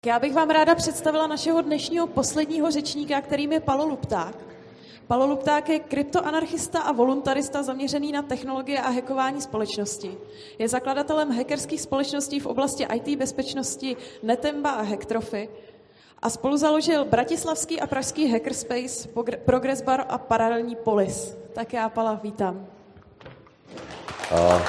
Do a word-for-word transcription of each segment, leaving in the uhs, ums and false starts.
já bych vám ráda představila našeho dnešního posledního řečníka, kterým je Palo Lupták. Palo Lupták je kryptoanarchista a voluntarista zaměřený na technologie a hackování společnosti. Je zakladatelem hackerských společností v oblasti í té bezpečnosti Netemba a Hacktrophy a spoluzaložil bratislavský a pražský hackerspace, Progressbar a paralelní Polis. Tak já Pala vítám. Uh,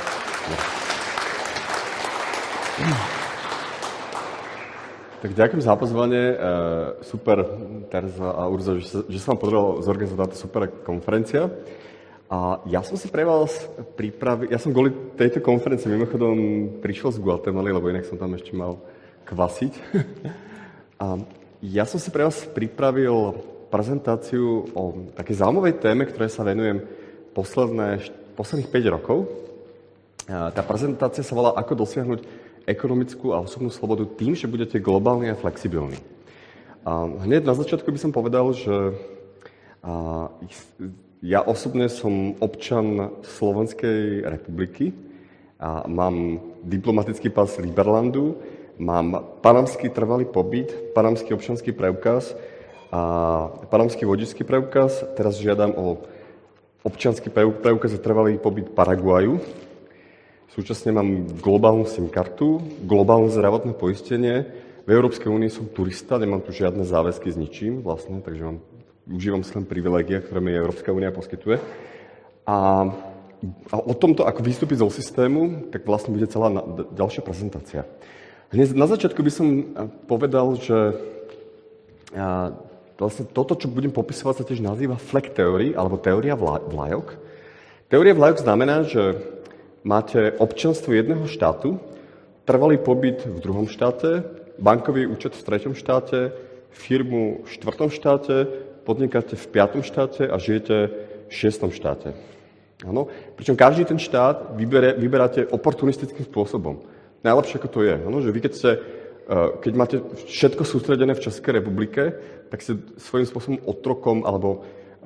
Tak ďakujem za pozvanie. Super, Terza a Urzo, že, že sa vám podarilo zorganizovať táto super konferencia. A ja som si pre vás pripravil, ja som kvôli tejto konferencii mimochodom prišiel z Guatemaly, lebo inak som tam ešte mal kvasiť. A ja som si pre vás pripravil prezentáciu o takej zaujímavej téme, ktoré sa venujem posledné, posledných päť rokov. A tá prezentácia sa volá Ako dosiahnuť ekonomickú a osobnú slobodu tým, že budete globálni a flexibilní. A hneď na začiatku by som povedal, že a, ja osobne som občan Slovenskej republiky a mám diplomatický pás Liberlandu, mám panamský trvalý pobyt, panamský občanský preukaz a panamský vodičský preukaz. Teraz žiadam o občanský preukaz a trvalý pobyt Paraguaju. Súčasne mám globálnu SIM kartu, globálne zdravotné poistenie. V Európskej únii som turista, nemám tu žiadne záväzky s ničím vlastne, takže mám, užívam si len privilégia, ktoré mi Európska únia poskytuje. A, a o tomto, ako vystúpiť zo systému, tak vlastne bude celá na, ďalšia prezentácia. Hneď na začiatku by som povedal, že a, vlastne toto, čo budem popisovať, sa tiež nazýva flag theory, alebo teória vlajok. Teória vlajok znamená, že máte občanstvo jedného štátu, trvalý pobyt v druhom štáte, bankový účet v treťom štáte, firmu v štvrtom štáte, podnikáte v piatom štáte a žijete v šiestom štáte. Áno? Pričom každý ten štát vybere, vyberáte oportunistickým spôsobom. Najlepšie ako to je. Áno? Že vy keď, ste, keď máte všetko sústredené v Českej republike, tak ste svojím spôsobom otrokom alebo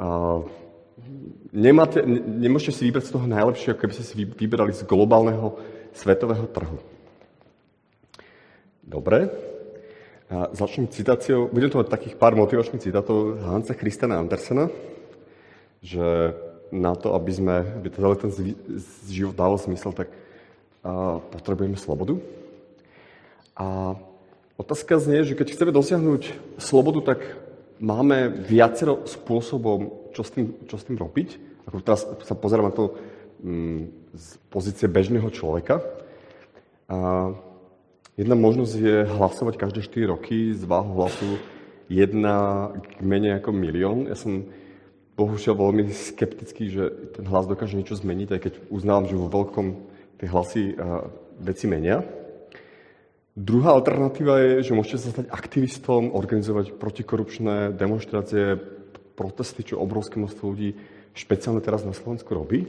Nemáte, ne, nemôžete si vybrať z toho najlepšie, ako keby ste si vyberali z globálneho svetového trhu. Dobre. A začnem citáciou. Budem to mať takých pár motivačných citátov Hansa Christiana Andersena, že na to, aby sme, aby celý ten život dával zmysel, tak a, potrebujeme slobodu. A otázka znie, že keď chceme dosiahnuť slobodu, tak máme viacero spôsobov, čo s tým, čo s tým robiť. Ako teraz sa pozerám na to um, z pozície bežného človeka. A jedna možnosť je hlasovať každé štyri roky z váhu hlasu jedna k menej ako milión. Ja som bohužiaľ veľmi skeptický, že ten hlas dokáže niečo zmeniť, aj keď uznávam, že vo veľkom tie hlasy uh, veci menia. Druhá alternatíva je, že môžete sa stať aktivistom, organizovať protikorupčné demonštrácie, protesty, čo obrovské množstvo ľudí, špeciálne teraz na Slovensku robí.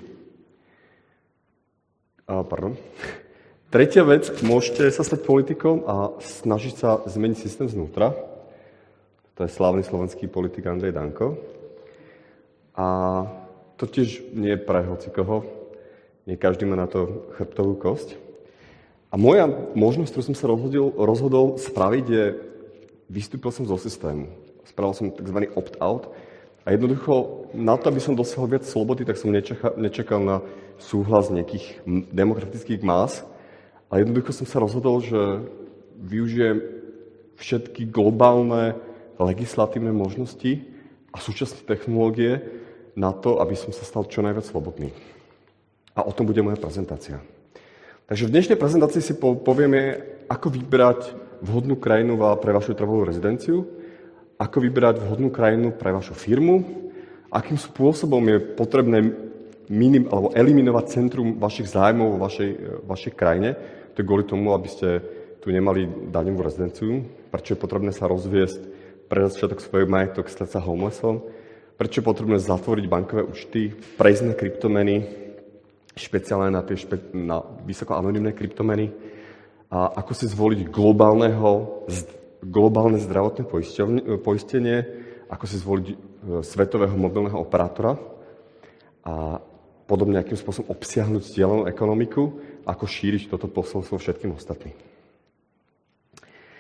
A, pardon. Tretia vec, môžete sa stať politikom a snažiť sa zmeniť systém znútra. To je slávny slovenský politik Andrej Danko. A to tiež nie je pre hocikoho. Nie každý má na to chrbtovú kosť. A moja možnosť, ktorú som sa rozhodol, rozhodol spraviť, je, vystúpil som zo systému. Spravil som tzv. opt-out. A jednoducho, na to, aby som dosiahol viac slobody, tak som nečakal, nečakal na súhlas nejakých demokratických más. A jednoducho som sa rozhodol, že využijem všetky globálne legislatívne možnosti a súčasné technológie na to, aby som sa stal čo najviac slobodný. A o tom bude moja prezentácia. Takže v dnešnej prezentácii si povieme, ako vybrať vhodnú krajinu pre vašu trvalú rezidenciu, ako vybrať vhodnú krajinu pre vašu firmu, akým spôsobom je potrebné minim, alebo eliminovať centrum vašich zájmov vo vašej, vašej krajine. To je kvôli tomu, aby ste tu nemali daňovú rezidenciu, prečo je potrebné sa rozviesť, predať všetok svoj majetok, stať sa homelessom, prečo je potrebné zatvoriť bankové účty, prejsť na kryptomeny, špeciálne na tie špe- na vysoko anonymné kryptomeny, a ako si zvoliť globálneho, globálne zdravotné poistenie, ako si zvoliť svetového mobilného operátora a podobne akým spôsobom obsiahnuť zdieľanú ekonomiku, ako šíriť toto posolstvo všetkým ostatným.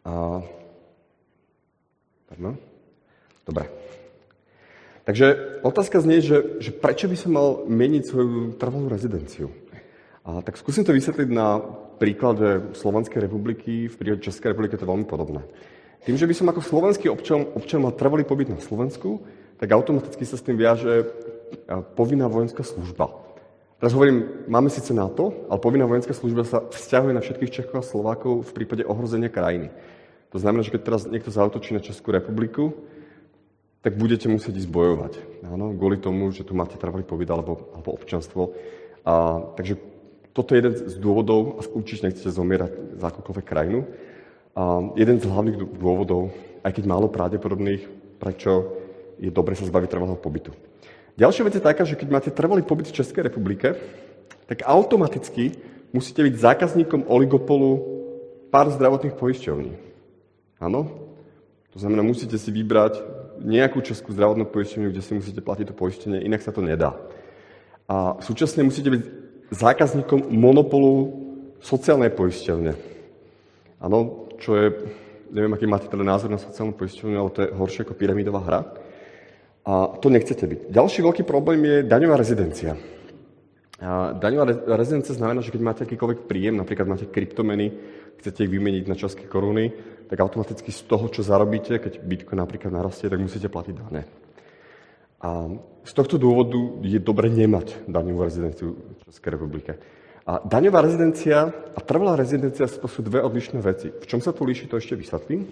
A... Pardon? Dobre. Takže otázka znie, že, že prečo by som mal meniť svoju trvalú rezidenciu? A tak skúsim to vysvetliť na príklade Slovenskej republiky. V prípade Českej republiky to je veľmi podobné. Tým, že by som ako slovenský občan, občan mal trvalý pobyt na Slovensku, tak automaticky sa s tým viaže povinná vojenská služba. Teraz hovorím, máme síce NATO, ale povinná vojenská služba sa vzťahuje na všetkých Čechov a Slovákov v prípade ohrozenia krajiny. To znamená, že keď teraz niekto zaútočí na Českú republiku, tak budete musieť ísť bojovať. Áno, kvôli tomu, že tu máte trvalý pobyt alebo, alebo občanstvo. A, takže toto je jeden z dôvodov, a určite nechcete zomierať za akúkoľvek krajinu. A jeden z hlavných dôvodov, aj keď málo pravdepodobných, prečo je dobre sa zbaviť trvalého pobytu. Ďalšia vec je taká, že keď máte trvalý pobyt v Českej republike, tak automaticky musíte byť zákazníkom oligopolu pár zdravotných poisťovní. Áno? To znamená, musíte si vybrať nejakú českú zdravotnú poisťovňu, kde si musíte platiť to poistenie, inak sa to nedá. A súčasne musíte byť zákazníkom monopolu sociálnej poisťovne. Áno, čo je, neviem, aký máte teda názor na sociálnu poisťovňu, ale to je horšie ako pyramidová hra. A to nechcete byť. Ďalší veľký problém je daňová rezidencia. A daňová rezidencia znamená, že keď máte akýkoľvek príjem, napríklad máte kryptomeny, chcete ich vymeniť na české koruny, tak automaticky z toho, čo zarobíte, keď Bitcoin napríklad narastie, tak musíte platiť dane. A z tohto dôvodu je dobre nemať daňovú rezidenciu v Českej republike. A daňová rezidencia a trvalá rezidencia to sú dve odlišné veci. V čom sa to líši, to ešte vysvetlím.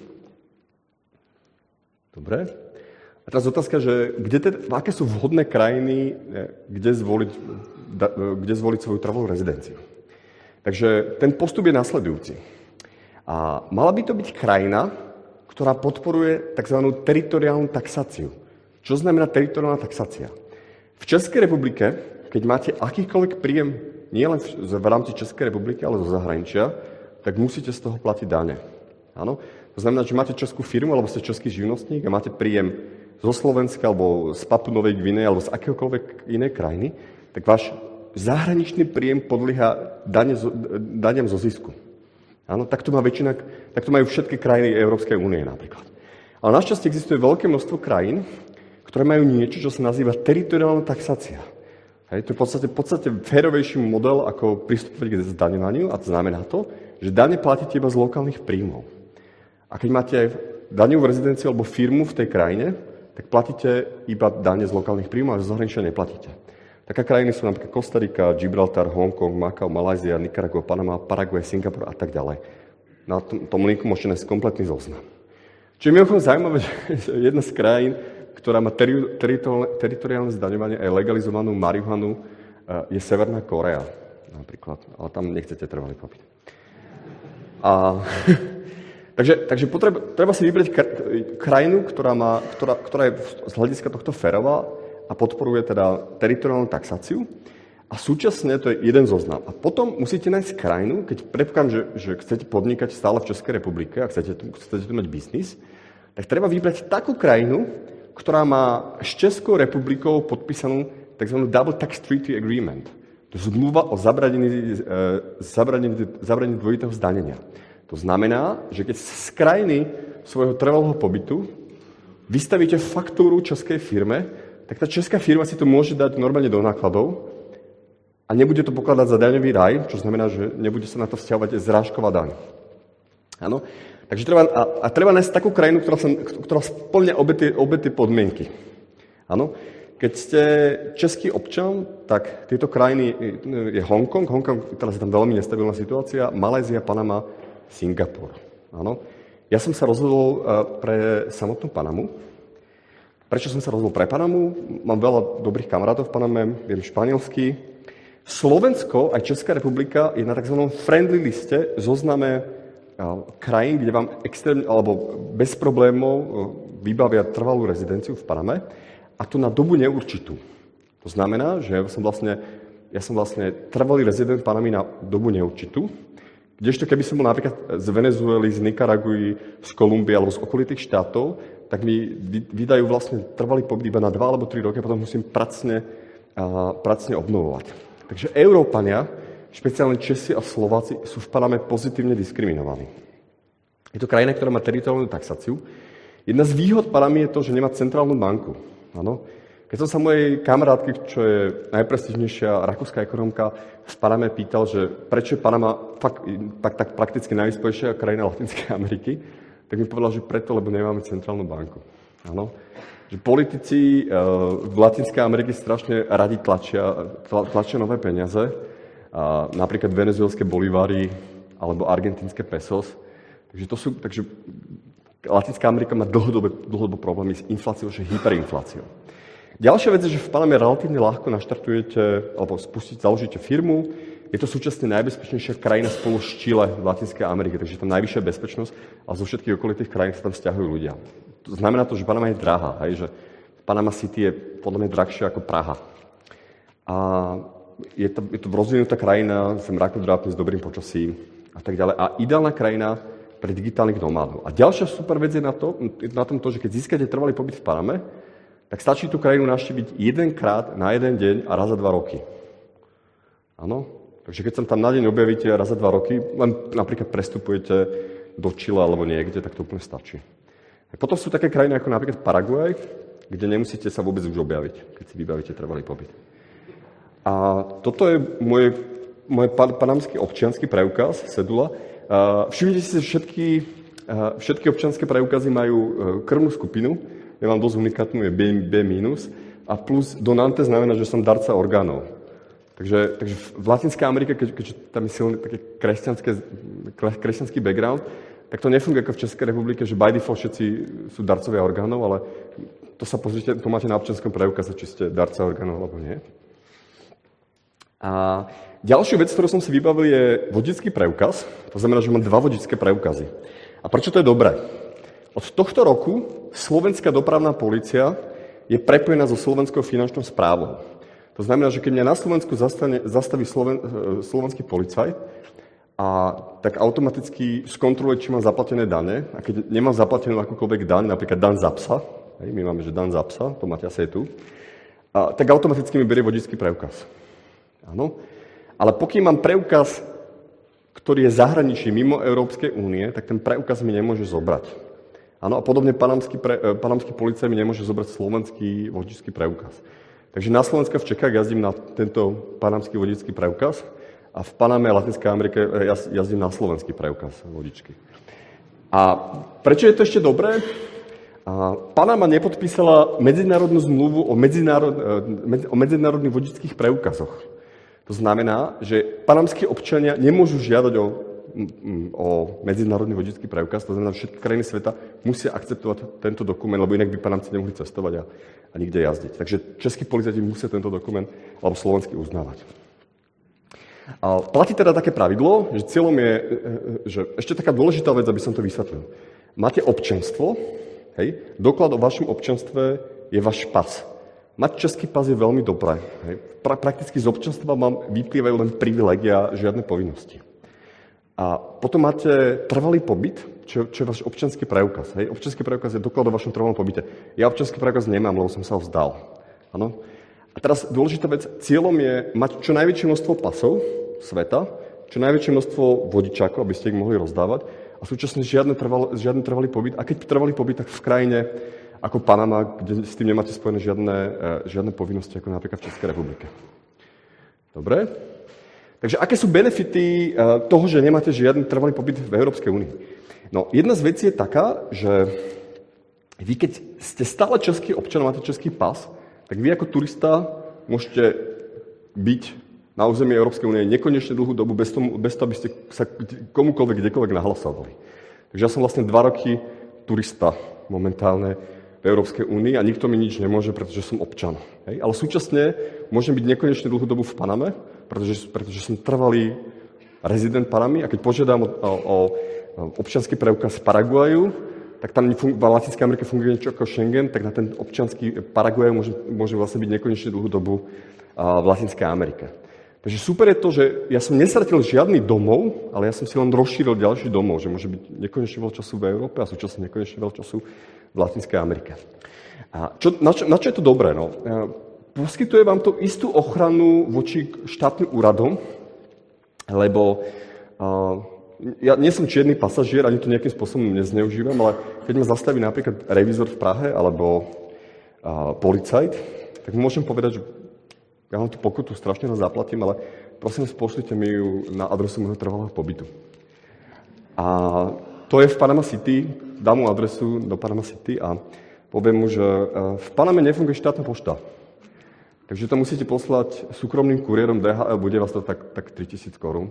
Dobre. A teraz otázka, že kde teda, aké sú vhodné krajiny, kde zvoliť, kde zvoliť svoju trvalú rezidenciu. Takže ten postup je nasledujúci. A mala by to byť krajina, ktorá podporuje tzv. Teritoriálnu taxáciu. Čo znamená teritoriálna taxácia? V Českej republike, keď máte akýkoľvek príjem, nie len v, v rámci Českej republiky, ale zo zahraničia, tak musíte z toho platiť dane. Áno? To znamená, že máte českú firmu, alebo ste český živnostník a máte príjem zo Slovenska, alebo z Papu Novej Gvineje, alebo z akéhokoľvek inej krajiny, tak váš zahraničný príjem podlieha dane zo, daniam zo zisku. Áno, tak to má väčšina, tak to majú všetky krajiny Európskej únie napríklad. Ale našťastie existuje veľké množstvo krajín, ktoré majú niečo, čo sa nazýva teritoriálna taxácia. Hej, to je v podstate, v podstate férovejší model, ako pristupovať k zdaňovaniu, a to znamená to, že dane platíte iba z lokálnych príjmov. A keď máte daňovú rezidenciu alebo firmu v tej krajine, tak platíte iba dane z lokálnych príjmov a z zahraničia neplatíte. Také krajiny sú napríklad Kostarika, Gibraltar, Hongkong, Macau, Malajzia, Nikaragua, Panama, Paraguay, Singapur a tak ďalej. Na tom, tom linku môžete nájsť kompletný zoznam. Čo je mimochodom zaujímavé, že jedna z krajín, ktorá má teri- teritoriálne, teritoriálne zdaňovanie aj legalizovanú marihuanu, je Severná Korea napríklad. Ale tam nechcete trvalý pobyt. A... Takže, takže potreba, treba si vybrať krajinu, ktorá, má, ktorá, ktorá je z hľadiska tohto férová a podporuje teda teritoriálnu taxáciu. A súčasne to je jeden zoznam. A potom musíte nájsť krajinu, keď predpokladám, že, že chcete podnikať stále v Českej republike a chcete tu, chcete tu mať biznis, tak treba vybrať takú krajinu, ktorá má s Českou republikou podpísanú tzv. Double Tax Treaty Agreement. To je zmluva o zabranení, zabranení, zabranení dvojitého zdanenia. To znamená, že keď z krajiny svojho trvalého pobytu vystavíte faktúru českej firme, tak tá česká firma si to môže dať normálne do nákladov a nebude to pokladať za daňový raj, čo znamená, že nebude sa na to vzťahovať zrážková daň. Áno? Takže treba, a, a treba nájsť takú krajinu, ktorá, sa, ktorá splňa obe tie, obe tie podmienky. Áno? Keď ste český občan, tak tieto krajiny je Hongkong, Hongkong, teraz je tam veľmi nestabilná situácia, Malajzia, Panama, Singapur. Áno. Ja som sa rozhodol pre samotnú Panamu. Prečo som sa rozhodol pre Panamu? Mám veľa dobrých kamarátov v Paname, viem španielsky. Slovensko, aj Česká republika, je na tzv. Friendly liste zozname krajín, kde vám extrémne, alebo bez problémov vybavia trvalú rezidenciu v Paname, a to na dobu neurčitú. To znamená, že ja som vlastne, ja som vlastne trvalý rezident Panamy na dobu neurčitú. Kdežto keby som bol napríklad z Venezuely, z Nikaraguji, z Kolumbie alebo z okolitých štátov, tak mi vydajú vlastne trvalý pobyt iba na dva alebo tri roky a potom musím pracne, a, pracne obnovovať. Takže Európania, špeciálne Česi a Slováci, sú v Paname pozitívne diskriminovaní. Je to krajina, ktorá má teritoriálnu taxáciu. Jedna z výhod Panamy je to, že nemá centrálnu banku. Áno. Keď som sa mojej kamarátky, čo je najprestížnejšia rakúska ekonomka, v Paname pýtal, že prečo je Panama fakt, tak, tak prakticky najvyspelejšia krajina Latinskej Ameriky, tak mi povedal, že preto, lebo nemáme centrálnu banku. Áno. Že politici v Latinskej Amerike strašne radi tlačia, tlačia nové peniaze, napríklad venezuelské bolivary alebo argentínske pesos. Takže, to sú, takže Latinská Amerika má dlhodobé, dlhodobé problémy s infláciou, že hyperinfláciou. Ďalšia vec je, že v Paname relatívne ľahko naštartujete alebo spustíte, založíte firmu. Je to súčasne najbezpečnejšia krajina spolu s Chile v Latinskej Amerike, takže je tam najvyššia bezpečnosť a zo všetkých okolitých krajín sa tam vzťahujú ľudia. To znamená to, že Panama je drahá, hej, že Panama City je podľa mňa drahšia ako Praha. A je to, je to rozvinutá krajina, sem rakodrápne s dobrým počasím a tak ďalej. A ideálna krajina pre digitálnych nomádov. A ďalšia super vec je na, to, na tom to, že keď získate trvalý pobyt v Paname, tak stačí tú krajinu navštíviť jedenkrát na jeden deň a raz za dva roky. Áno? Takže keď sa tam na deň objavíte raz za dva roky, len napríklad prestupujete do Chile alebo niekde, tak to úplne stačí. A potom sú také krajiny ako napríklad Paraguaj, kde nemusíte sa vôbec už objaviť, keď si vybavíte trvalý pobyt. A toto je môj, môj panamský občiansky preukaz, cedula. Všimnite si, že všetky, všetky občianske preukazy majú krvnú skupinu. Ja mám dosť unikátnu, je B, B minus. A plus donante znamená, že som darca orgánov. Takže, takže v Latinskej Amerike, keď, keďže tam je silný taký kresťanský background, tak to nefunguje ako v Českej republike, že by default všetci sú darcovia orgánov, ale to sa pozrite, to máte na občianskom preukaze, či ste darca orgánov alebo nie. A ďalšiu vec, ktorú som si vybavil, je vodický preukaz. To znamená, že mám dva vodické preukazy. A prečo to je dobré? Od tohto roku Slovenská dopravná polícia je prepojená so Slovenskou finančnou správou. To znamená, že keď mňa na Slovensku zastane, zastaví Sloven, slovenský policajt, a tak automaticky skontroluje, či mám zaplatené dane. A keď nemám zaplatenú akúkoľvek daň, napríklad daň za psa, hej, my máme, že daň za psa, to máte asi aj tu, a, tak automaticky mi berie vodičský preukaz. Áno. Ale pokiaľ mám preukaz, ktorý je zahraničí mimo Európskej únie, tak ten preukaz mi nemôže zobrať. Áno, a podobne panamský, pre, panamský policajt mi nemôže zobrať slovenský vodičský preukaz. Takže na Slovensku v Čechách jazdím na tento panamský vodičský preukaz a v Paname a Latinskej Amerike jazdím na slovenský preukaz vodičky. A prečo je to ešte dobré? A Panama nepodpísala medzinárodnú zmluvu o, medzinárod, o medzinárodných vodičských preukazoch. To znamená, že panamskí občania nemôžu žiadať o, o medzinárodný vodičský preukaz, to znamená, že všetky krajiny sveta musia akceptovať tento dokument, lebo inak by Panamci nemohli cestovať a, a nikde jazdiť. Takže českí policajti musia tento dokument alebo slovenský uznávať. A platí teda také pravidlo, že cieľom je, že ešte taká dôležitá vec, aby som to vysvetlil. Máte občianstvo, hej, doklad o vašom občianstve je váš pas. Mať český pas je veľmi dobré. Hej. Pra, prakticky z občianstva vám vyplývajú len privilégia, žiadne povinnosti. A potom máte trvalý pobyt, čo, čo je váš občiansky preukaz. Hej. Občiansky preukaz je doklad o vašom trvalom pobyte. Ja občiansky preukaz nemám, lebo som sa ho vzdal. Áno? A teraz dôležitá vec, cieľom je mať čo najväčšie množstvo pasov sveta, čo najväčšie množstvo vodičákov, aby ste ich mohli rozdávať a súčasne žiadny trvalý, žiadny trvalý pobyt. A keď trvalý pobyt, tak v krajine ako Panama, kde s tým nemáte spojené žiadne, žiadne povinnosti, ako napríklad v Českej republike. Dobre? Takže aké sú benefity toho, že nemáte žiadny trvalý pobyt v Európskej únii? No, jedna z vecí je taká, že vy, keď ste stále český občan, máte český pas, tak vy ako turista môžete byť na území Európskej únie nekonečne dlhú dobu bez toho, bez toho, aby ste sa komukoľvek, kdekoľvek nahlasovali. Takže ja som vlastne dva roky turista momentálne v Európskej únii a nikto mi nič nemôže, pretože som občan. Hej? Ale súčasne môžem byť nekonečne dlhú dobu v Paname, pretože, pretože som trvalý rezident Panamy a keď požiadam o, o, o občiansky preukaz z Paraguaju, tak tam v Latinskej Amerike funguje niečo ako Schengen, tak na ten občiansky Paraguaj môže, môže vlastne byť nekonečne dlhú dobu v Latinskej Amerike. Takže super je to, že ja som nestratil žiadny domov, ale ja som si len rozšíril ďalší domov, že môže byť nekonečne veľa času v Európe a súčasne nekonečne veľa času v Latinskej Amerike. A čo, na, čo, na čo je to dobré? No? Poskytuje vám to istú ochranu voči štátnym úradom, lebo uh, ja nie som čierny pasažier, ani to nejakým spôsobom nezneužívam, ale keď ma zastaví napríklad revízor v Prahe alebo a, policajt, tak môžem povedať, že ja vám tú pokutu strašne raz zaplatím, ale prosím, pošlite mi ju na adresu môjho trvalého pobytu. A to je v Panama City, dám mu adresu do Panama City a poviem mu, že v Paname nefunguje štátna pošta. Takže to musíte poslať súkromným kuriérom dé há el, bude vás to tak, tak tritisíc korún.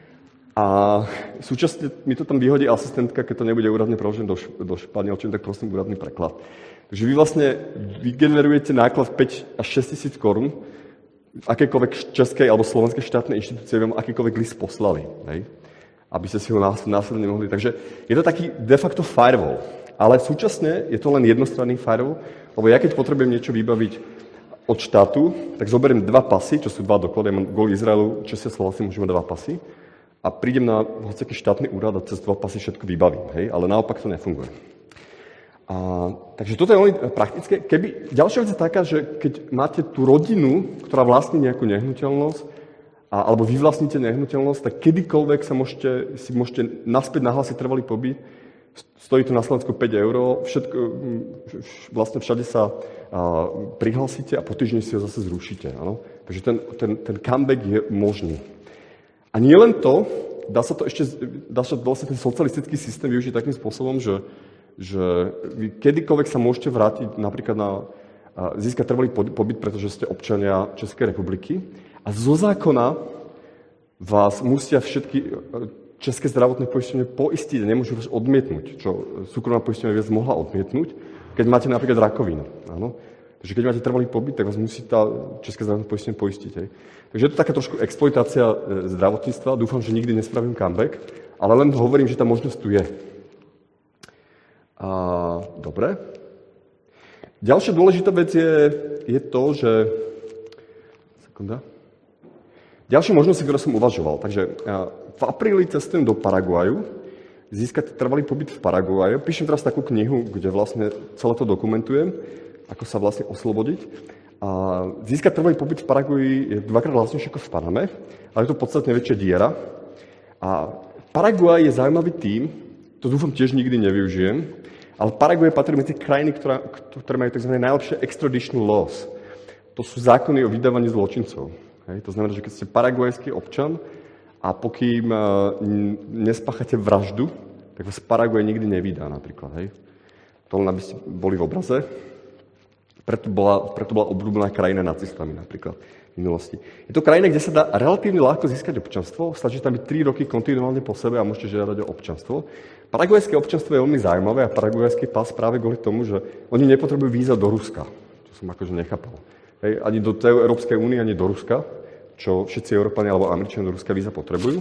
A súčasne mi to tam vyhodí asistentka, keď to nebude úradne preložené do, do španielčiny, tak prosím úradný preklad. Takže vy vlastne vygenerujete náklad päť až šesť tisíc korún, v akékoľvek českej alebo slovenskej štátnej inštitúcie vám akýkoľvek list poslali, hej? Aby ste si ho následne mohli. Takže je to taký de facto firewall. Ale súčasne je to len jednostranný firewall, lebo ja keď potrebujem niečo vybaviť od štátu, tak zoberiem dva pasy, čo sú dva doklady, ja mám kvôli Izraelu, Česi a Slováci môžu mať dva pasy a prídem na hociaký štátny úrad a cez dva pasy všetko vybavím, hej? Ale naopak to nefunguje. A, takže toto je veľmi praktické. Keby, ďalšia vec je taká, že keď máte tú rodinu, ktorá vlastní nejakú nehnuteľnosť, a, alebo vy vlastníte nehnuteľnosť, tak kedykoľvek sa môžete, si môžete naspäť nahlásiť trvalý pobyt. Stojí to na Slovensku päť eur, všetko, vlastne všade sa a, prihlásite a po týždni si ho zase zrušíte. Áno? Takže ten, ten, ten comeback je možný. A nie len to, dá sa to ešte, dá sa vlastne ten socialistický systém využiť takým spôsobom, že, že vy kedykoľvek sa môžete vrátiť napríklad na a, získať trvalý pobyt, pretože ste občania Českej republiky a zo zákona vás musia všetky české zdravotné poistenie poistiť a nemôžu vás odmietnúť, čo súkromná poistenie viac mohla odmietnúť, keď máte napríklad rakovinu. Áno? Takže keď máte trvalý pobyt, tak vás musí tá české zdravotné poistenie poistiť. Hej? Takže je to taká trošku exploitácia zdravotníctva. Dúfam, že nikdy nespravím comeback, ale len hovorím, že tá možnosť tu je. A, dobre. Ďalšia dôležitá vec je, je to, že... Sekunda. Ďalšie možnosti, ktoré som uvažoval. Takže v apríli cestujem do Paraguaju, získať trvalý pobyt v Paraguaju. Píšem teraz takú knihu, kde vlastne celé to dokumentujem, ako sa vlastne oslobodiť. A získať trvalý pobyt v Paraguaji je dvakrát vlastnejšie ako v Paname, ale je to podstatne väčšia diera. A Paraguaj je zaujímavý tým, to dúfam tiež nikdy nevyužijem, ale Paraguaj patrí medzi krajiny, ktorá, ktoré majú tzv. Najlepšie extradition laws. To sú zákony o vydávaní zločincov. Hej, to znamená, že keď ste paraguajský občan a pokým uh, nespáchate vraždu, tak vás Paraguaj nikdy nevydá napríklad. Hej. To len aby ste boli v obraze. Preto bola, preto bola obľúbená krajina nacistami napríklad v minulosti. Je to krajina, kde sa dá relatívne ľahko získať občanstvo. Stačí tam byť tri roky kontinuálne po sebe a môžete žiadať o občanstvo. Paraguajské občanstvo je veľmi zaujímavé a paraguajský pas práve kvôli tomu, že oni nepotrebujú víza do Ruska. Čo som akože nechápal. Hej, ani do tej Európskej únie, ani do Ruska, čo všetci Európani alebo Američania do Ruska víza potrebujú.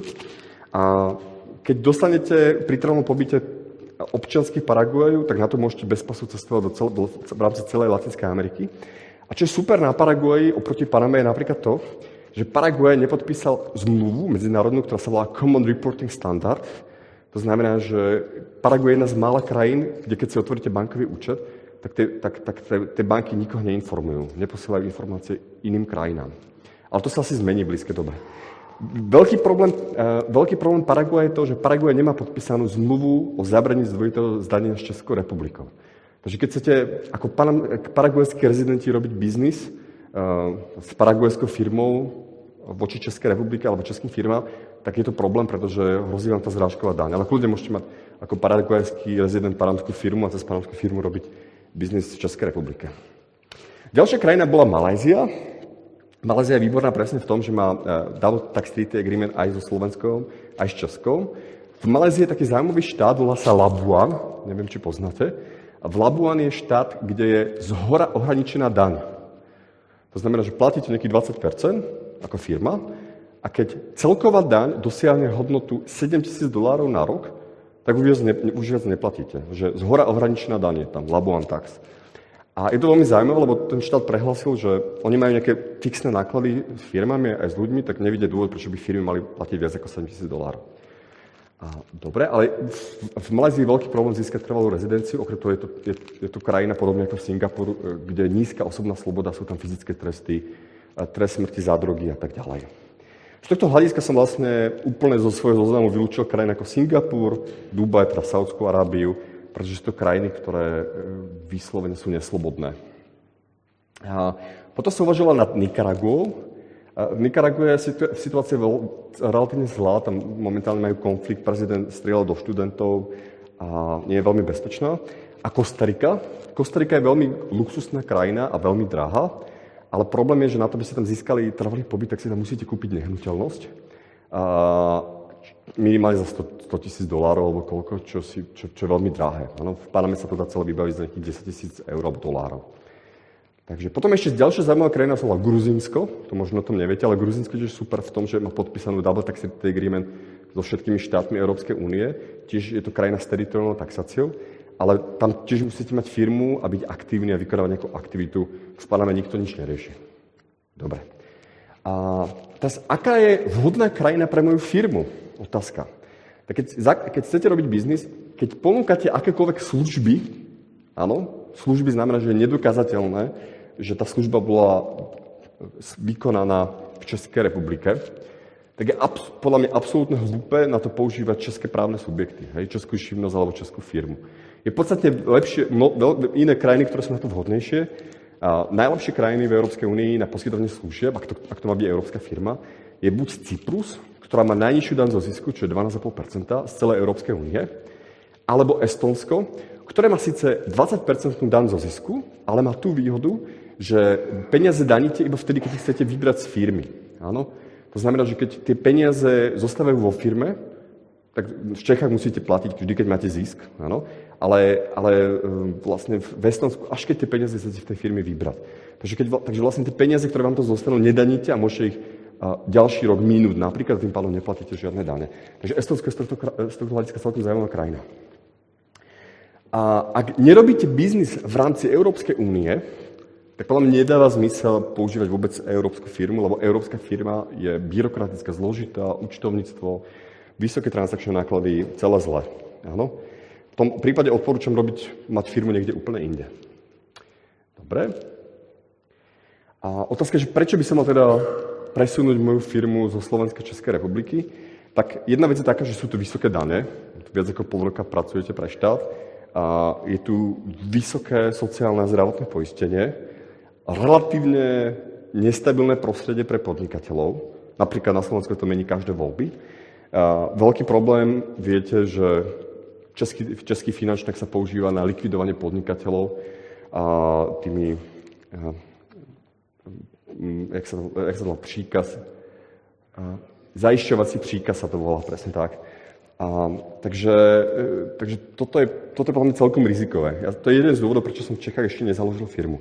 A keď dostanete pri trvalom pobyte občiansky Paraguaju, tak na to môžete bez pasu cestovať do cel, do, v rámci celej Latinskej Ameriky. A čo je super na Paraguaji oproti Paname je napríklad to, že Paraguaj nepodpísal zmluvu medzinárodnú, ktorá sa volá Common Reporting Standard. To znamená, že Paraguaj je jedna z mála krajín, kde keď si otvoríte bankový účet, tak tie, tak, tak tie banky nikoho neinformujú, neposielajú informácie iným krajinám. Ale to sa asi zmení v blízkej dobe. Veľký problém, uh, veľký problém Paraguaja je to, že Paraguaj nemá podpísanú zmluvu o zabraní zdvojitého zdanenia s Českou republikou. Takže keď chcete ako paraguajskí rezidenti robiť biznis uh, s paraguajskou firmou voči Českej republike alebo českým firmám, tak je to problém, pretože hrozí vám tá zrážková daň. Ale kľudne môžete mať ako paraguajský rezident panamskú firmu a cez panamskú firmu robiť biznis v Českej republike. Ďalšia krajina bola Malajzia. Malajzia je výborná presne v tom, že má double tax treaty agreement aj so Slovenskou, aj s Českou. V Malajzii je taký zaujímavý štát, volá sa Labuan, neviem, či poznáte. A v Labuan je štát, kde je zhora ohraničená daň. To znamená, že platíte nejakých dvadsať percent ako firma a keď celková daň dosiahne hodnotu sedemtisíc dolárov na rok, tak už viac, ne, už viac neplatíte. Že zhora ohraničená daň je tam, Labuan tax. A je to veľmi zaujímavé, lebo ten štát prehlásil, že oni majú nejaké fixné náklady s firmami aj s ľuďmi, tak nevidie dôvod, prečo by firmy mali platiť viac ako sedemtisíc dolárov. A, dobre, ale v, v Malajzii je veľký problém získať trvalú rezidenciu, okrem toho je to, je, je to krajina podobne ako v Singapuru, kde je nízka osobná sloboda, sú tam fyzické tresty, trest smrti za drogy a tak ďalej. Z tohto hľadiska som vlastne úplne zo svojho zoznamu vylúčil krajiny ako Singapur, Dubaj, teda Saúdskú Arábiu, pretože sú to krajiny, ktoré vyslovene sú neslobodné. A potom som uvažoval nad Nikaraguou. V Nikarague je situácia relatívne zlá, tam momentálne majú konflikt, prezident strieľal do študentov a nie je veľmi bezpečná. A Kostarika. Kostarika je veľmi luxusná krajina a veľmi drahá, ale problém je, že na to, aby ste tam získali trvalý pobyt, tak si tam musíte kúpiť nehnuteľnosť. A minimálne za sto tisíc dolárov alebo koľko, čo, si, čo, čo je veľmi drahé. Ano, v Paname sa to dá celé vybaviť za nejakých desať tisíc eur alebo dolárov. Takže potom ešte ďalšia zaujímavá krajina sa volá Gruzínsko, to možno o tom neviete, ale Gruzínsko je super v tom, že má podpísanú double tax agreement so všetkými štátmi Európskej únie. Tiež je to krajina s teritoriálnou taxáciou, ale tam tiež musíte mať firmu a byť aktívni a vykonávať nejakú aktivitu. V Paname nikto nič nerieši. Dobre. A teraz, aká je vhodná krajina pre moju firmu? Otázka. Tak keď, keď chcete robiť biznis, keď ponúkate akékoľvek služby, áno, služby znamená, že je nedokázateľné, že tá služba bola vykonaná v Českej republike, tak je abs- podľa mňa absolútne hlúpe na to používať české právne subjekty, hej, českú živnosť alebo českú firmu. Je podstatne lepšie, no, iné krajiny, ktoré sú na to vhodnejšie. A najlepšie krajiny v Európskej únii na poskytovanie služieb, ak to, ak to má byť európska firma, je buď Cyprus, ktorá má najnižšiu daň zo zisku, čo je dvanásť celá päť percenta z celej Európskej únie, alebo Estonsko, ktoré má síce dvadsať percent daň zo zisku, ale má tú výhodu, že peniaze daníte iba vtedy, keď ich chcete vybrať z firmy. Áno? To znamená, že keď tie peniaze zostávajú vo firme, tak v Čechách musíte platiť vždy, keď máte zisk. Áno? Ale, ale vlastne v Estonsku, až keď tie peniaze chcete v tej firme vybrať. Takže, keď, takže vlastne tie peniaze, ktoré vám to zostanú, nedaníte a môžete ich a ďalší rok minúť. Napríklad tým pádom neplatíte žiadne dane. Takže Estonsko je z tohto, z tohto hľadiska celkom zaujímavá krajina. A ak nerobíte biznis v rámci Európskej únie, tak podľa mňa nedáva zmysel používať vôbec európsku firmu, lebo európska firma je byrokratická, zložitá, účtovníctvo, vysoké transakčné náklady, celé zle. Áno? V tom prípade odporúčam robiť, mať firmu niekde úplne inde. Dobre. A otázka je, že prečo by som mal teda presunúť moju firmu zo Slovenskej Českej republiky? Tak jedna vec je taká, že sú tu vysoké dane. Viac ako pol roka pracujete pre štát. A je tu vysoké sociálne a zdravotné poistenie. Relatívne nestabilné prostredie pre podnikateľov. Napríklad na Slovensku to mení každé voľby. A veľký problém, viete, že český, český finančník sa používa na likvidovanie podnikateľov a tými, a, jak sa, jak sa to volá, príkaz, a, zajišťovací príkaz sa to volá, presne tak. A, takže takže toto, je, toto je podľa mňa celkom rizikové. Ja, to je jeden z dôvodov, prečo som v Čechách ešte nezaložil firmu.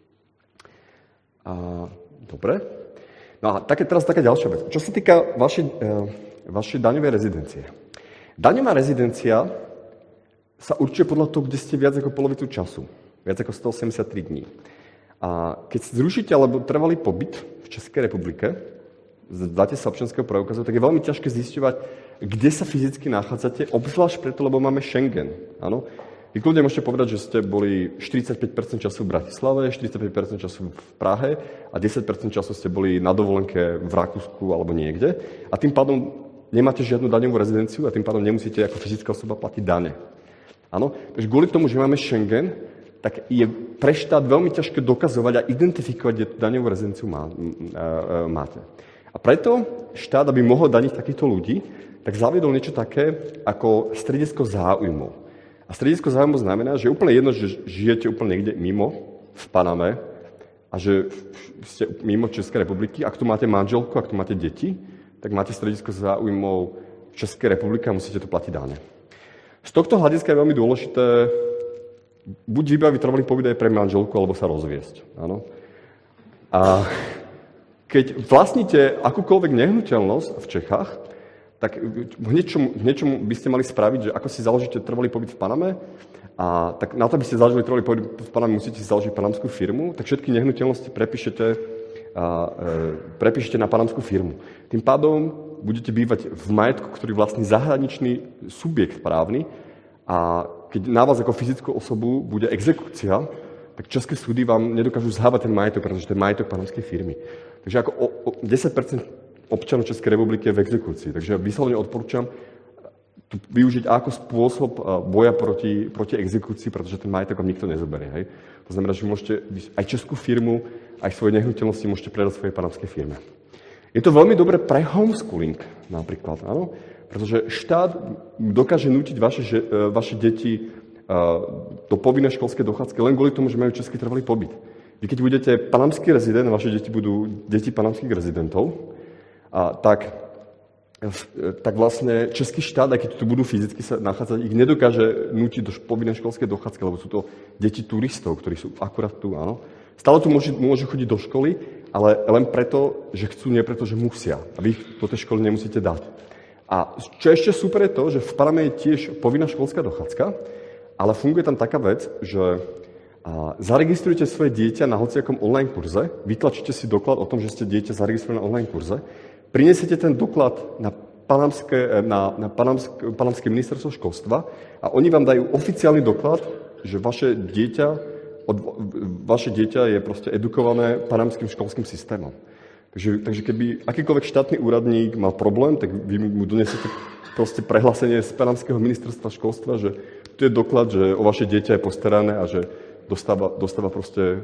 A, dobre. No a také, teraz taká ďalšia vec. Čo sa týka vašej, e, vašej daňovej rezidencie. Daňová rezidencia sa určuje podľa toho, kde ste viac ako polovicu času. Viac ako stoosemdesiattri dní. A keď zrušíte alebo trvalý pobyt v Českej republike, dáte sa občianskeho preukazu, tak je veľmi ťažké zisťovať, kde sa fyzicky nachádzate, obzvlášť preto, lebo máme Schengen. Áno? Vy kľudne môžete povedať, že ste boli štyridsaťpäť percent času v Bratislave, štyridsaťpäť percent času v Prahe a desať percent času ste boli na dovolenke v Rakúsku alebo niekde. A tým pádom nemáte žiadnu daňovú rezidenciu a tým pádom nemusíte ako fyzická osoba platiť dane. Áno? Takže kvôli tomu, že máme Schengen, tak je pre štát veľmi ťažké dokazovať a identifikovať, kde tú daňovú rezidenciu má, máte. A preto štát, aby mohol daniť takýchto ľudí, tak zaviedol niečo také ako stredisko záujmov. A stredisko záujmov znamená, že je úplne jedno, že žijete úplne niekde mimo, v Paname, a že ste mimo Českej republiky. Ak tu máte manželku, ak tu máte deti, tak máte stredisko záujmov v Českej republike a musíte to platiť dane. Z tohto hľadiska je veľmi dôležité buď vybaviť trvalý pobyt aj pre manželku, alebo sa rozviesť. Áno? A keď vlastníte akúkoľvek nehnuteľnosť v Čechách, tak v niečom, v niečom by ste mali spraviť, že ako si založíte trvalý pobyt v Paname, a tak na to, aby ste založili trvalý pobyt v Paname, musíte si založiť panamskú firmu, tak všetky nehnuteľnosti prepíšete, a, e, prepíšete na panamskú firmu. Tým pádom budete bývať v majetku, ktorý vlastní zahraničný subjekt právny, a keď na vás ako fyzickú osobu bude exekúcia, tak české súdy vám nedokážu zhávať ten majetok, pretože to je majetok panamskej firmy. Takže ako o, o desať percent občanov Českej republiky je v exekúcii. Takže vyslovene odporúčam to využiť ako spôsob boja proti, proti exekúcii, pretože ten majetok vám nikto nezoberie. Hej? To znamená, že môžete aj českú firmu, aj svoje nehnuteľnosti môžete predať svojej panamskej firme. Je to veľmi dobré pre homeschooling napríklad, áno? Pretože štát dokáže nútiť vaše, vaše deti do povinnej školskej dochádzky len kvôli tomu, že majú český trvalý pobyt. Vy keď budete panamský rezident, vaše deti budú deti panamských rezidentov, a tak, tak vlastne český štát, aj keď tu budú fyzicky sa nachádzať, ich nedokáže nútiť do povinnej školskej dochádzky, lebo sú to deti turistov, ktorí sú akurát tu, áno. Stále tu môžu, môžu chodiť do školy, ale len preto, že chcú, nie preto, že musia. A vy ich do tej školy nemusíte dať. A čo ešte super je to, že v Paname je tiež povinná školská dochádzka, ale funguje tam taká vec, že zaregistrujete svoje dieťa na hociakom online kurze, vytlačíte si doklad o tom, že ste dieťa zaregistrované na online kurze, prinesiete ten doklad na panamské, na, na panamské, panamské ministerstvo školstva a oni vám dajú oficiálny doklad, že vaše dieťa, od, vaše dieťa je proste edukované panamským školským systémom. Takže, takže keby akýkoľvek štátny úradník mal problém, tak vy mu donesiete proste prehlásenie z panamského ministerstva školstva, že tu je doklad, že o vaše dieťa je postarané a že dostáva, dostáva proste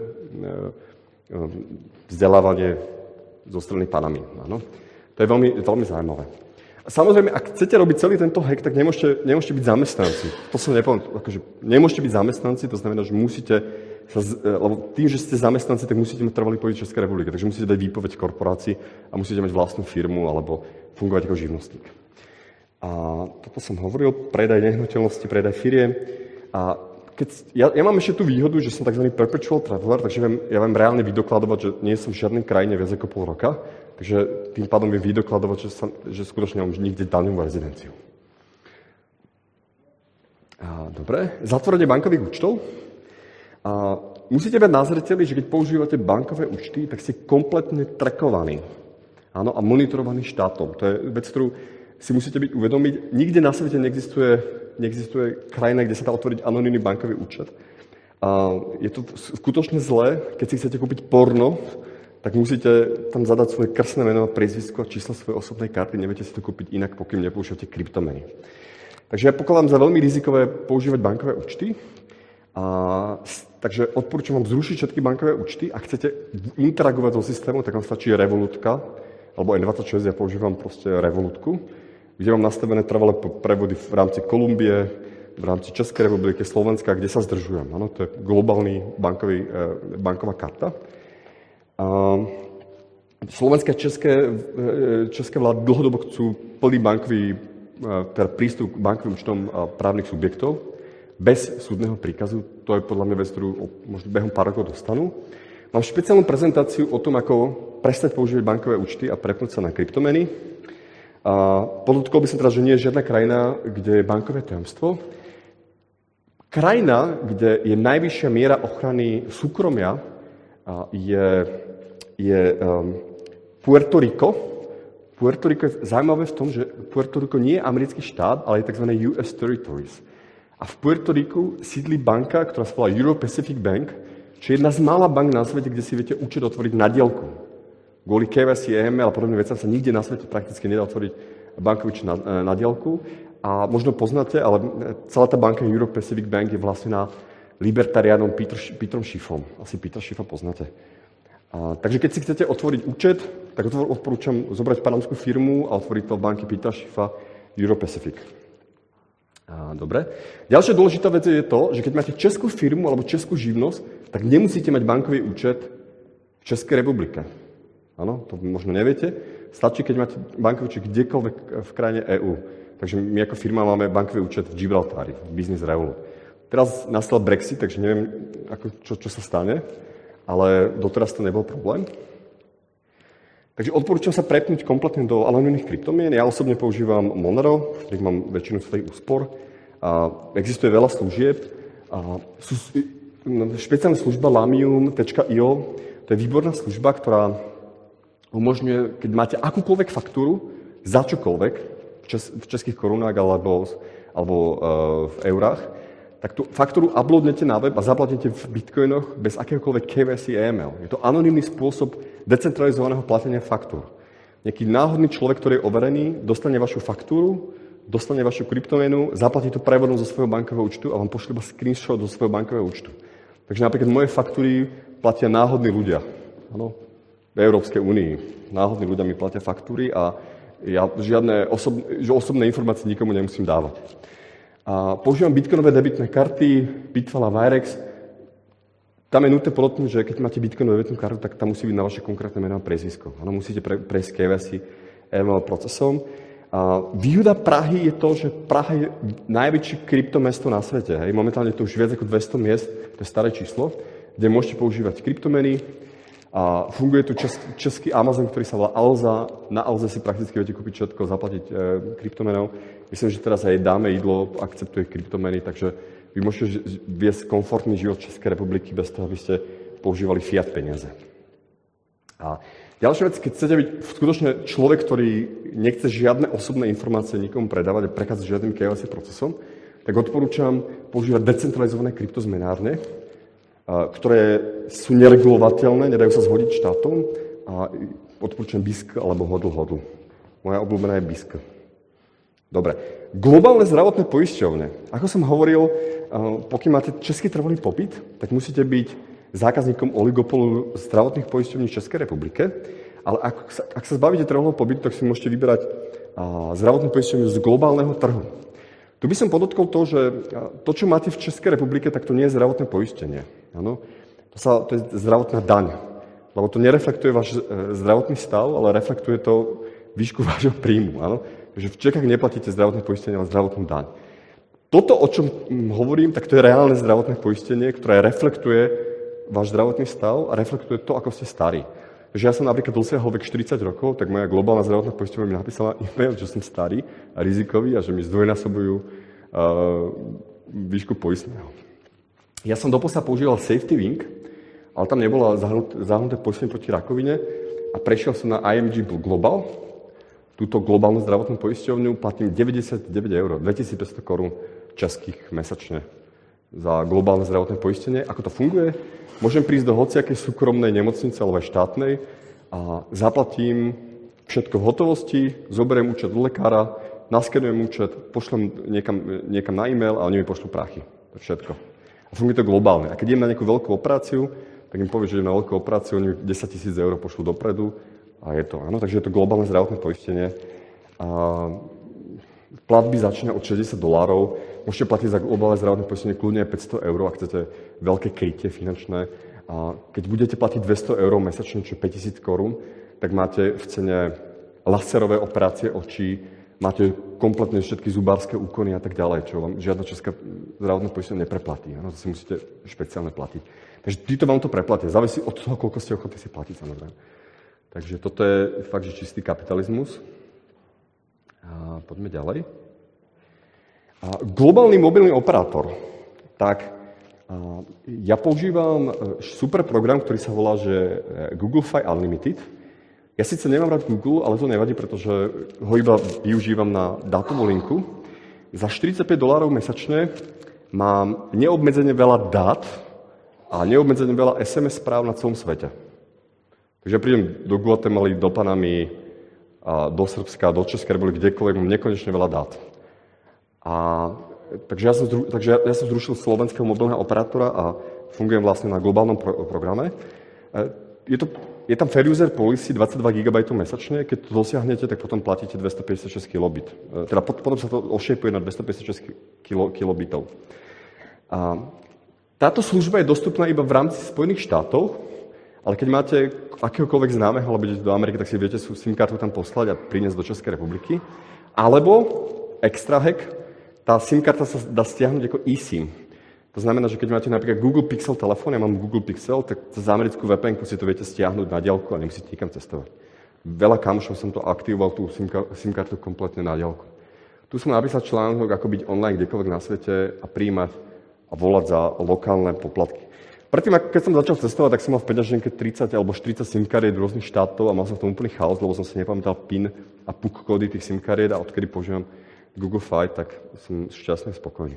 vzdelávanie zo strany Panamy. Áno? To je veľmi, veľmi zaujímavé. A samozrejme, ak chcete robiť celý tento hack, tak nemôžete, nemôžete byť zamestnanci. To som nepovedal, akože nemôžete byť zamestnanci, to znamená, že musíte sa, lebo tým, že ste zamestnanci, tak musíte mať trvalý pobyt v Českej republike, takže musíte dať výpoveď korporácii a musíte mať vlastnú firmu alebo fungovať ako živnostník. A toto som hovoril, predaj nehnuteľnosti, predaj firiem. A keď, ja, ja mám ešte tú výhodu, že som tzv. Perpetual traveler, takže viem, ja viem reálne vydokladovať, že nie som v žiadnej krajine viac ako pol roka, takže tým pádom viem vydokladovať, že, som, že skutočne mám nikde daňovú rezidenciu. A, dobre, zatvorenie bankových účtov. A musíte mať na zreteli, že keď používate bankové účty, tak ste kompletne trackovaní. Áno, a monitorovaní štátom. To je vec, ktorú si musíte byť uvedomiť. Nikde na svete neexistuje, neexistuje krajina, kde sa dá otvoriť anonymný bankový účet. A je to skutočne zlé, keď si chcete kúpiť porno, tak musíte tam zadať svoje krstné meno, priezvisko a číslo svojej osobnej karty. Neviete si to kúpiť inak, pokým nepoužívate kryptomeny. Takže ja pokladám za veľmi rizikové používať bankové účty. A, takže odporúčam vám zrušiť všetky bankové účty. Ak chcete interagovať so systémom, tak vám stačí Revolutka, alebo en dvadsaťšesť, ja používam proste Revolutku, kde mám nastavené trvalé prevody v rámci Kolumbie, v rámci Českej republiky, Slovenska, kde sa zdržujem. Ano, to je globálny bankový, banková karta. A Slovenské a české, české vlády dlhodobo chcú plný bankový, teda prístup k bankovým účtom právnych subjektov bez súdneho príkazu. To je podľa mňa vec, ktorú možno behom pár rokov dostanú. Mám špeciálnu prezentáciu o tom, ako prestať používať bankové účty a prepnúť sa na kryptomeny. A podotkol by som teda, že nie je žiadna krajina, kde je bankové tajomstvo. Krajina, kde je najvyššia miera ochrany súkromia, je, je um, Puerto Rico. Puerto Rico je zaujímavé v tom, že Puerto Rico nie je americký štát, ale je tzv. U S Territories. A v Puerto Riku sídli banka, ktorá sa volá Euro Pacific Bank, čo je jedna z mála bank na svete, kde si viete účet otvoriť na diaľku. Kvôli K Y C, E M L a podobným vecam sa nikde na svete prakticky nedá otvoriť bankový účet na, na diaľku. A možno poznáte, ale celá tá banka Euro Pacific Bank je vlastne na libertariánom Peter, Petrom Schiffom. Asi Petra Schiffa poznáte. A, takže keď si chcete otvoriť účet, tak odporúčam zobrať panamskú firmu a otvoriť to v banky Petra Schiffa Euro Pacific. A, dobre. Ďalšia dôležitá vec je to, že keď máte českú firmu alebo českú živnosť, tak nemusíte mať bankový účet v Českej republike. Áno, to možno neviete. Stačí, keď máte bankový účet kdekoľvek v krajine E Ú. Takže my ako firma máme bankový účet v Gibraltári, v Business Revolut. Teraz nastal Brexit, takže neviem, ako, čo, čo sa stane, ale doteraz to nebol problém. Takže odporúčam sa prepnúť kompletne do anonymných kryptomien. Ja osobne používam Monero, v ktorých mám väčšinu svojich úspor. A existuje veľa služieb. A sú, špeciálna služba lamium bodka io, to je výborná služba, ktorá umožňuje, keď máte akúkoľvek faktúru za čokoľvek, v, čes, v českých korunách alebo, alebo uh, v eurách, tak tú faktúru uploadnete na web a zaplatíte v bitcoinoch bez akéhokoľvek K Y C A M L. Je to anonymný spôsob decentralizovaného platenia faktúr. Nejaký náhodný človek, ktorý je overený, dostane vašu faktúru, dostane vašu kryptomenu, zaplatí to prevodom zo svojho bankového účtu a vám pošle iba screenshot do svojho bankového účtu. Takže napríklad moje faktúry platia náhodní ľudia. Áno, v Európskej únii. Náhodní ľudia mi platia faktúry a ja žiadne osob, osobné informácie nikomu nemusím dávať. A používam bitcoinové debitné karty, Bitfall a Wirex. Tam je nutné podotknúť, že keď máte bitcoinovú debitnú kartu, tak tam musí byť na vaše konkrétne meno a priezvisko. Áno, musíte pre, prejsť ká vaj sí em el procesom. A výhoda Prahy je to, že Praha je najväčšie kryptomesto na svete. Hej. Momentálne je to už viac ako dvesto miest, to je staré číslo, kde môžete používať kryptomeny. A funguje tu čes, český Amazon, ktorý sa volá Alza. Na Alze si prakticky viete kúpiť všetko, zaplatiť e, kryptomenou. Myslím, že teraz aj Dáme jídlo akceptuje kryptomeny, takže vy môžete viesť komfortný život Českej republiky bez toho, aby ste používali fiat peniaze. A ďalšia vec, keď chcete byť skutočne človek, ktorý nechce žiadne osobné informácie nikomu predávať a prechádzať žiadnym ká vaj sí procesom, tak odporúčam používať decentralizované kryptozmenárne, ktoré sú neregulovateľné, nedajú sa zhodiť štátom a odporúčam bé í es ká alebo hodl hodl. Moja obľúbená je bé í es ká. Dobre. Globálne zdravotné poisťovne. Ako som hovoril, pokiaľ máte český trvalý pobyt, tak musíte byť zákazníkom oligopolu zdravotných poisťovní v Českej republike, ale ak sa, ak sa zbavíte trvalého pobytu, tak si môžete vyberať zdravotnú poisťovňu z globálneho trhu. Tu by som podotkol to, že to, čo máte v Českej republike, tak to nie je zdravotné poistenie. Áno? To, sa, to je zdravotná daň. Lebo to nereflektuje váš zdravotný stav, ale reflektuje to výšku vášho príjmu. Áno? Takže v Čechách neplatíte zdravotné poistenie, ale zdravotnú daň. Toto, o čom hovorím, tak to je reálne zdravotné poistenie, ktoré reflektuje váš zdravotný stav a reflektuje to, ako ste starí. Takže ja som napríklad dosiahol vek štyridsať rokov, tak moja globálna zdravotná poisťovňa mi napísala e-mail, že som starý a rizikový a že mi zdvojnásobujú uh, výšku poistného. Ja som doposiaľ používal Safety Wing, ale tam nebola zahrnuté poistenie proti rakovine a prešiel som na í em gé Global. Túto globálnu zdravotnú poisťovňu platím deväťdesiatdeväť eur, dvetisícpäťsto korún českých mesačne za globálne zdravotné poistenie. Ako to funguje? Môžem prísť do hociakej súkromnej nemocnice alebo aj štátnej a zaplatím všetko v hotovosti, zoberiem účet do lekára, naskenujem účet, pošlem niekam, niekam na e-mail a oni mi pošlú prachy. To je všetko. A funguje to globálne. A keď idem na nejakú veľkú operáciu, tak im poviem, že idem na veľkú operáciu, oni mi desaťtisíc eur pošlú dopredu a je to. Áno, takže je to globálne zdravotné poistenie. A platby začína od šesťdesiat dolárov. Môžete platiť za globálne zdravotné poistenie kľudne aj päťsto eur, ak chcete veľké krytie finančné. A keď budete platiť dvesto eur mesačne, čo je päťtisíc korún, tak máte v cene laserové operácie očí, máte kompletne všetky zubárske úkony a tak ďalej, čo vám žiadna česká zdravotná poistenie nepreplatí. Ano, to si musíte špeciálne platiť. Takže títo vám to preplatia. Závisí od toho, koľko ste ochotní si platiť, samozrejme. Takže toto je fakt, že čistý kapitalizmus. A poďme ďalej. A globálny mobilný operátor. Tak a ja používam super program, ktorý sa volá, že Google Fi Unlimited. Ja síce nemám rád Google, ale to nevadí, pretože ho iba využívam na dátovú linku. Za štyridsaťpäť dolárov mesačne mám neobmedzene veľa dát a neobmedzene veľa es em es správ na celom svete. Takže ja prídem do Guatemaly, do Panamy, a do Srbska, do Českej republiky, kdekoľvek, mám nekonečne veľa dát. A, takže, ja som zru, takže ja, ja som zrušil slovenského mobilného operátora a fungujem vlastne na globálnom pro, programe. Je, to, je tam fair user policy dvadsaťdva gigabajtov mesačne, keď to dosiahnete, tak potom platíte dvestopäťdesiatšesť kilobit. Teda potom sa to ošejpuje na dvestopäťdesiatšesť kilobitov. A táto služba je dostupná iba v rámci Spojených štátov, ale keď máte akéhokoľvek známeho, alebo idete do Ameriky, tak si viete SIM kartu tam poslať a priniesť do Českej republiky. Alebo extra hack, tá SIM karta sa dá stiahnuť ako eSIM. To znamená, že keď máte napríklad Google Pixel telefón, ja mám Google Pixel, tak cez americkú vé pé enku si to viete stiahnuť na diaľku a nemusíte nikam cestovať. Veľa kamošov som to aktivoval, tú SIM kartu kompletne na diaľku. Tu som napísal článok, ako byť online kdekoľvek na svete a prijímať a volať za lokálne poplatky. Predtým, keď som začal cestovať, tak som mal v peňaženke tridsať alebo štyridsať SIM kariet rôznych štátov a mal som v tom úplný chaos, lebo som si nepamätal PIN a pé ú ká kódy tých SIM kariet a odkedy používam Google Fi, tak som šťastný a spokojný.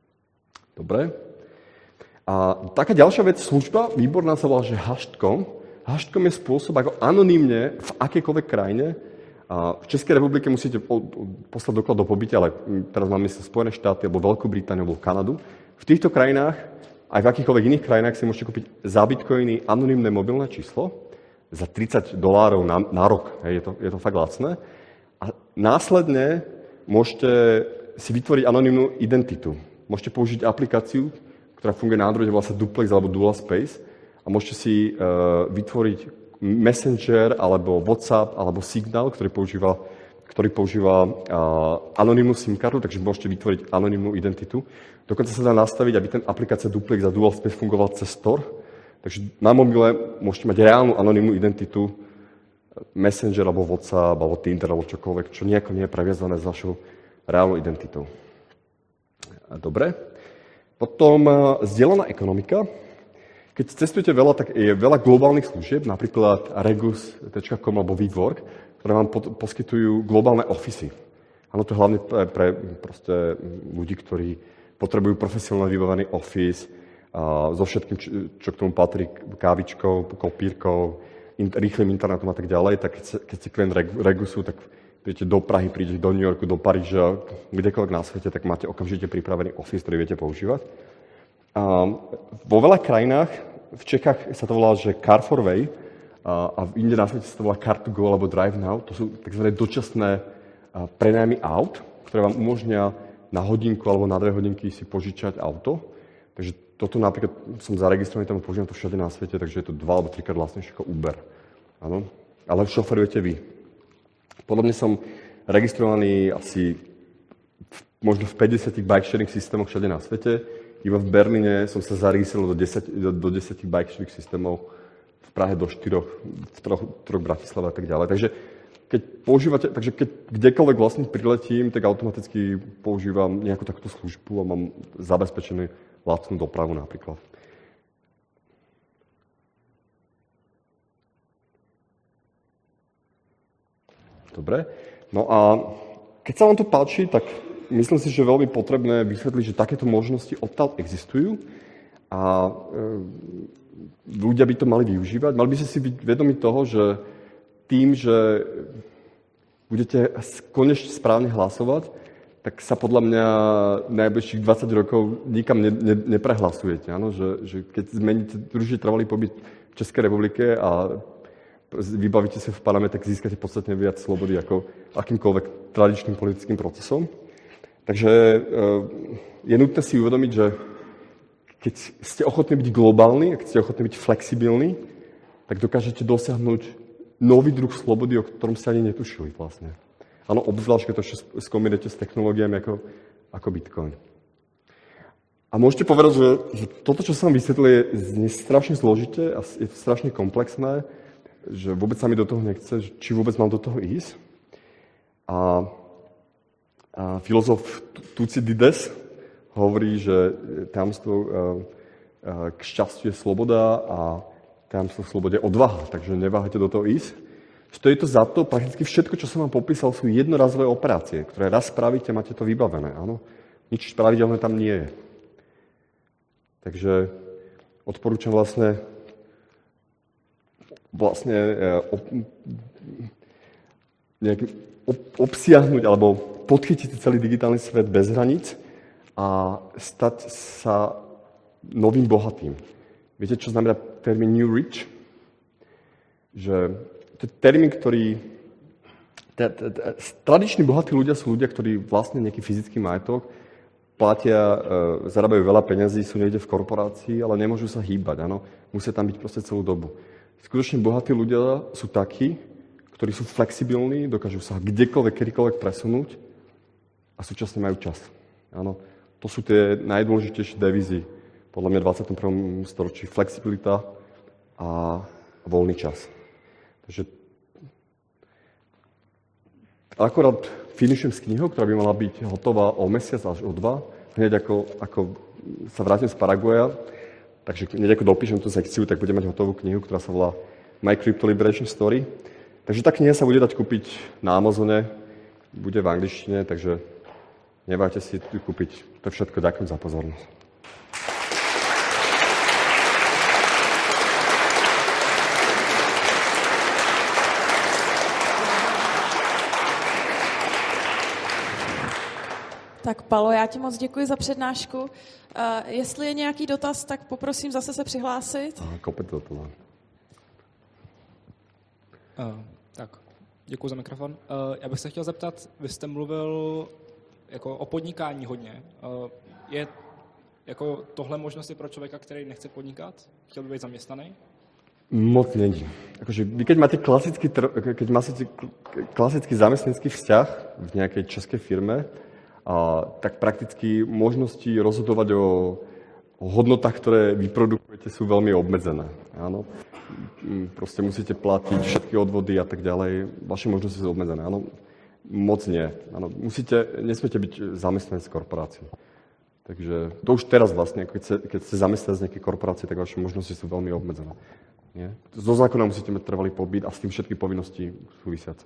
Dobre. A taká ďalšia vec, služba, výborná, sa volá, že hash bodka com. Hashcom je spôsob, ako anonymne v akejkoľvek krajine. A v Českej republike musíte poslať doklad do pobytia, ale teraz máme sa Spojené štáty, alebo Veľkú Britániu, alebo Kanadu. V týchto krajinách, aj v akýchkoľvek iných krajinách si môžete kúpiť za bitcoiny anonymné mobilné číslo za tridsať dolárov na, na rok. Hej, je, to, je to fakt lacné. A následne môžete si vytvoriť anonymnú identitu. Môžete použiť aplikáciu, ktorá funguje na Androide, volá sa Duplex alebo Dual Space a môžete si uh, vytvoriť Messenger, alebo WhatsApp, alebo Signal, ktorý používa, ktorý používa uh, anonymnú SIM kartu, takže môžete vytvoriť anonymnú identitu. Dokonca sa dá nastaviť, aby ten aplikácia Duplex a Dual Space fungoval cez Store. Takže na mobile môžete mať reálnu anonymnú identitu, Messenger, alebo WhatsApp, alebo Tinder, alebo čokoľvek, čo nejako nie je previazané s vašou reálnou identitou. Dobre. Potom uh, zdieľaná ekonomika. Keď cestujete veľa, tak je veľa globálnych služieb, napríklad regus bodka com alebo WeWork, ktoré vám pod, poskytujú globálne ofisy. Áno, to je hlavne pre, pre proste ľudí, ktorí potrebujú profesionálne vybavený office a so všetkým, čo, čo k tomu patrí, kávičkou, kopírkou, in, rýchlym internetom a tak ďalej. Tak keď, keď ste klient regusu, tak prídete do Prahy, prídete do New Yorku, do Paríža, kdekoľvek na svete, tak máte okamžite pripravený office, ktorý viete používať. A vo veľa krajinách, v Čechách sa to volá, že Car for Way, a, a v inde na svete sa to volá Car to Go alebo Drive Now. To sú tzv. Dočasné prenájmy aut, ktoré vám umožnia na hodinku alebo na dve hodinky si požičať auto. Takže toto napríklad som zaregistrovaný, tam používam to všade na svete, takže je to dva alebo trikrát vlastnejšie ako Uber. Áno? Ale šoferujete vy. Podobne som registrovaný asi v, možno v päťdesiatich bike sharing systémoch všade na svete. Iba v Berlíne som sa zaregistroval do desať, do, do desať bike sharing systémov, v Prahe do štyroch, v troch, troch Bratislave a tak ďalej. Takže keď používate, takže keď kdekoľvek vlastne priletím, tak automaticky používam nejakú takúto službu a mám zabezpečenú lacnú dopravu napríklad. Dobre. No a keď sa vám to páči, tak myslím si, že je veľmi potrebné vysvetliť, že takéto možnosti odtiaľ existujú a e, ľudia by to mali využívať. Mali by ste si byť vedomi toho, že tým, že budete konečne správne hlasovať, tak sa podľa mňa najbližších dvadsať rokov nikam ne, ne, neprehlasujete. Áno? Že, že keď zmeníte druhý trvalý pobyt v Českej republike a vybavíte sa v parlamente, tak získate podstatne viac slobody ako akýmkoľvek tradičným politickým procesom. Takže je nutné si uvedomiť, že keď ste ochotní byť globálni, keď ste ochotní byť flexibilní, tak dokážete dosiahnuť nový druh slobody, o ktorom ste ani netušili vlastne. Áno, obzvlášť, keď to skombinujete s technológiami ako, ako Bitcoin. A môžete povedať, že, že toto, čo som vysvetlil, je strašne zložité a je to strašne komplexné, že vôbec sa mi do toho nechce, či vôbec mám do toho ísť. A, a filozof Tucídides hovorí, že tajomstvo k šťastiu je sloboda a tajomstvo v slobode je odvaha, takže neváhajte do toho ísť. Stojí to za to, prakticky všetko, čo som vám popísal, sú jednorazové operácie, ktoré raz spravíte, máte to vybavené. Áno? Nič pravidelné tam nie je. Takže odporúčam vlastne vlastne ob, nejak ob, obsiahnuť alebo podchytiť celý digitálny svet bez hraníc a stať sa novým bohatým. Viete, čo znamená termín New Rich? Že to je termín, ktorý... Tradiční bohatí ľudia sú ľudia, ktorí vlastne nejaký fyzický majetok, platia, e, zarábajú veľa peňazí, sú niekde v korporácii, ale nemôžu sa hýbať, áno. Musia tam byť proste celú dobu. Skutočne bohatí ľudia sú takí, ktorí sú flexibilní, dokážu sa kdekoľvek, kedykoľvek presunúť a súčasne majú čas. Áno, to sú tie najdôležitejšie devízy podľa mňa v dvadsiatom prvom storočí. Flexibilita a voľný čas. Takže akorát finišujem s knihou, ktorá by mala byť hotová o mesiac až o dva, hneď ako, ako sa vrátim z Paraguaja. Takže hneď ako dopíšem tú sekciu, tak budem mať hotovú knihu, ktorá sa volá My Crypto Liberation Story. Takže tá kniha sa bude dať kúpiť na Amazone, bude v angličtine, takže nebájte si ju kúpiť. To je všetko, ďakujem za pozornosť. Tak Palo, já ti moc děkuji za přednášku. Uh, jestli je nějaký dotaz, tak poprosím zase se přihlásit. Aha, kopec do toho. Uh, tak, děkuji za mikrofon. Uh, já bych se chtěl zeptat, vy jste mluvil jako o podnikání hodně. Uh, je jako tohle možnosti pro člověka, který nechce podnikat? Chtěl by být zaměstnaný? Moc není. Akože vy keď máte klasický, keď máte klasický zamestnanecký vzťah v nejakej českej firme, a, tak prakticky možnosti rozhodovať o, o hodnotách, ktoré vyprodukujete, sú veľmi obmedzené. Áno. Proste musíte platiť všetky odvody a tak ďalej. Vaše možnosti sú obmedzené. Áno. Moc nie. Áno. Musíte, nesmiete byť zamestnanec korporácií. Takže to už teraz vlastne, keď ste, keď ste zamestnanec z nejakej korporácie, tak vaše možnosti sú veľmi obmedzené. Nie? Zo zákona musíte mať trvalý pobyt a s tým všetky povinnosti súvisiace.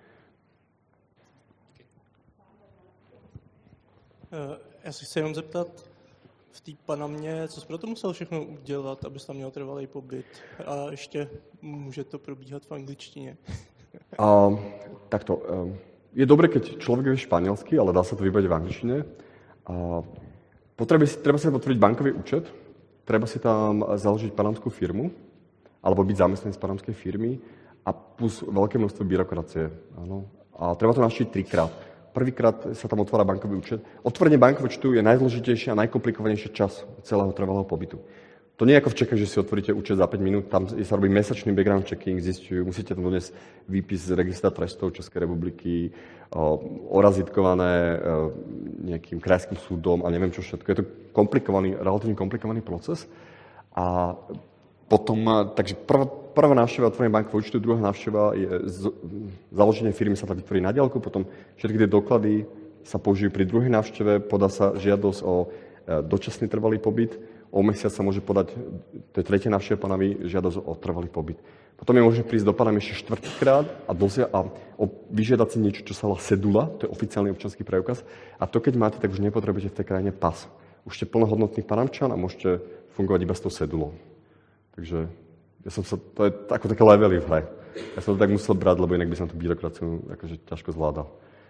Já si chci jenom zeptat, v té Panamě, co jsi pro to musel všechno udělat, abys tam měl trvalý pobyt? A ještě může to probíhat v angličtině? A, takto. Je dobré, keď človek vie španielsky, ale dá sa to vybaviť v angličtine. A potrebuje si, treba si otvoriť bankový účet, treba si tam založiť panamskú firmu, alebo byť zamestnanec panamskej firmy a plus veľké množstvo byrokracie. Áno. A treba to navštíviť trikrát. Prvýkrát sa tam otvára bankový účet. Otvorenie bankového účtu je najzložitejšie a najkomplikovanejší čas celého trvalého pobytu. To nie je ako v Čechách, že si otvoríte účet za päť minút, tam sa robí mesačný background checking, zistujú, musíte tam doniesť výpis z registra trestov Českej republiky, orazitkované nejakým krajským súdom a neviem čo všetko. Je to komplikovaný, relatívne komplikovaný proces. A potom, takže prvá, prvá návšteva otvorenie bankového účtu, druhá návšteva je z, založenie firmy sa tam vytvorí na diaľku, potom všetky tie doklady sa použijú pri druhej návšteve, podá sa žiadosť o dočasný trvalý pobyt, o mesiac sa môže podať, to je tretia návšteva Panamy, žiadosť o trvalý pobyt. Potom je možné prísť do Panamy ešte štvrtýkrát a, dosia, a o, vyžiadať si niečo, čo sa volá sedula, to je oficiálny občanský preukaz, a to keď máte, tak už nepotrebujete v tej krajine pas. Už ste plnohodnotný Panamčan a môžete fungovať iba s tou sedulou. Takže ja som sa, to je ako také levely v hre. Ja som to tak musel brať, lebo inak by som tú byrokraciu akože ťažko zvládal.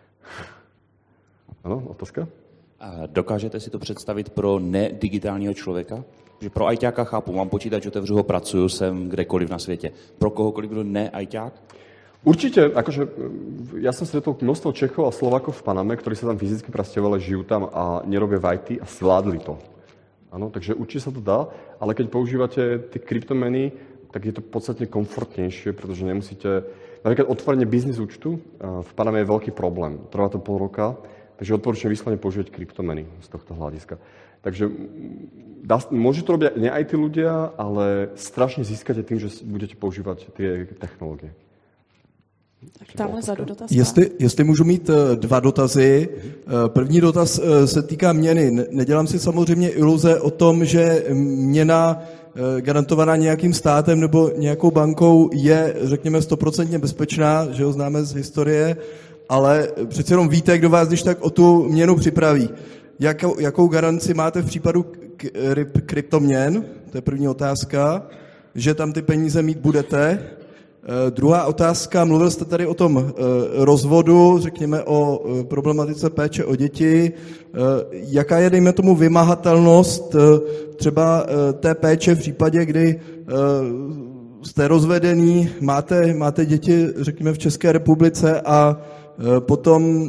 Ano, otázka? A dokážete si to představit pro nedigitálního člověka? Že pro ajťáka chápu, mám počítač, otevřu ho, pracuju, jsem kdekoliv na světě. Pro kohokoliv, kdo ne ajťák? Určite, akože ja som stretol množstvo Čechov a Slovákov v Paname, ktorí sa tam fyzicky presťahovali, žijú tam a nerobia v í té a zvládli to. Áno, takže určite sa to dá, ale keď používate tie kryptomeny, tak je to podstatne komfortnejšie, pretože nemusíte... Napríklad otvorenie biznis účtu v Paname je veľký problém. Trvá to pol roka, takže odporúčam vyslovene používať kryptomeny z tohto hľadiska. Takže dá, môžu to robiť ne aj tí ľudia, ale strašne získate tým, že budete používať tie technológie. Tak tamhle zadu dotaz. Jestli, jestli můžu mít dva dotazy. První dotaz se týká měny. Nedělám si samozřejmě iluze o tom, že měna garantovaná nějakým státem nebo nějakou bankou je, řekněme, stoprocentně bezpečná, že ho známe z historie, ale přece jenom víte, kdo vás když tak o tu měnu připraví. Jakou, jakou garanci máte v případu k, kryptoměn? To je první otázka. Že tam ty peníze mít budete. Uh, druhá otázka, mluvil jste tady o tom uh, rozvodu, řekněme o uh, problematice péče o děti. Uh, jaká je, dejme tomu, vymahatelnost uh, třeba uh, té péče v případě, kdy uh, jste rozvedený, máte, máte děti, řekněme, v České republice a uh, potom uh,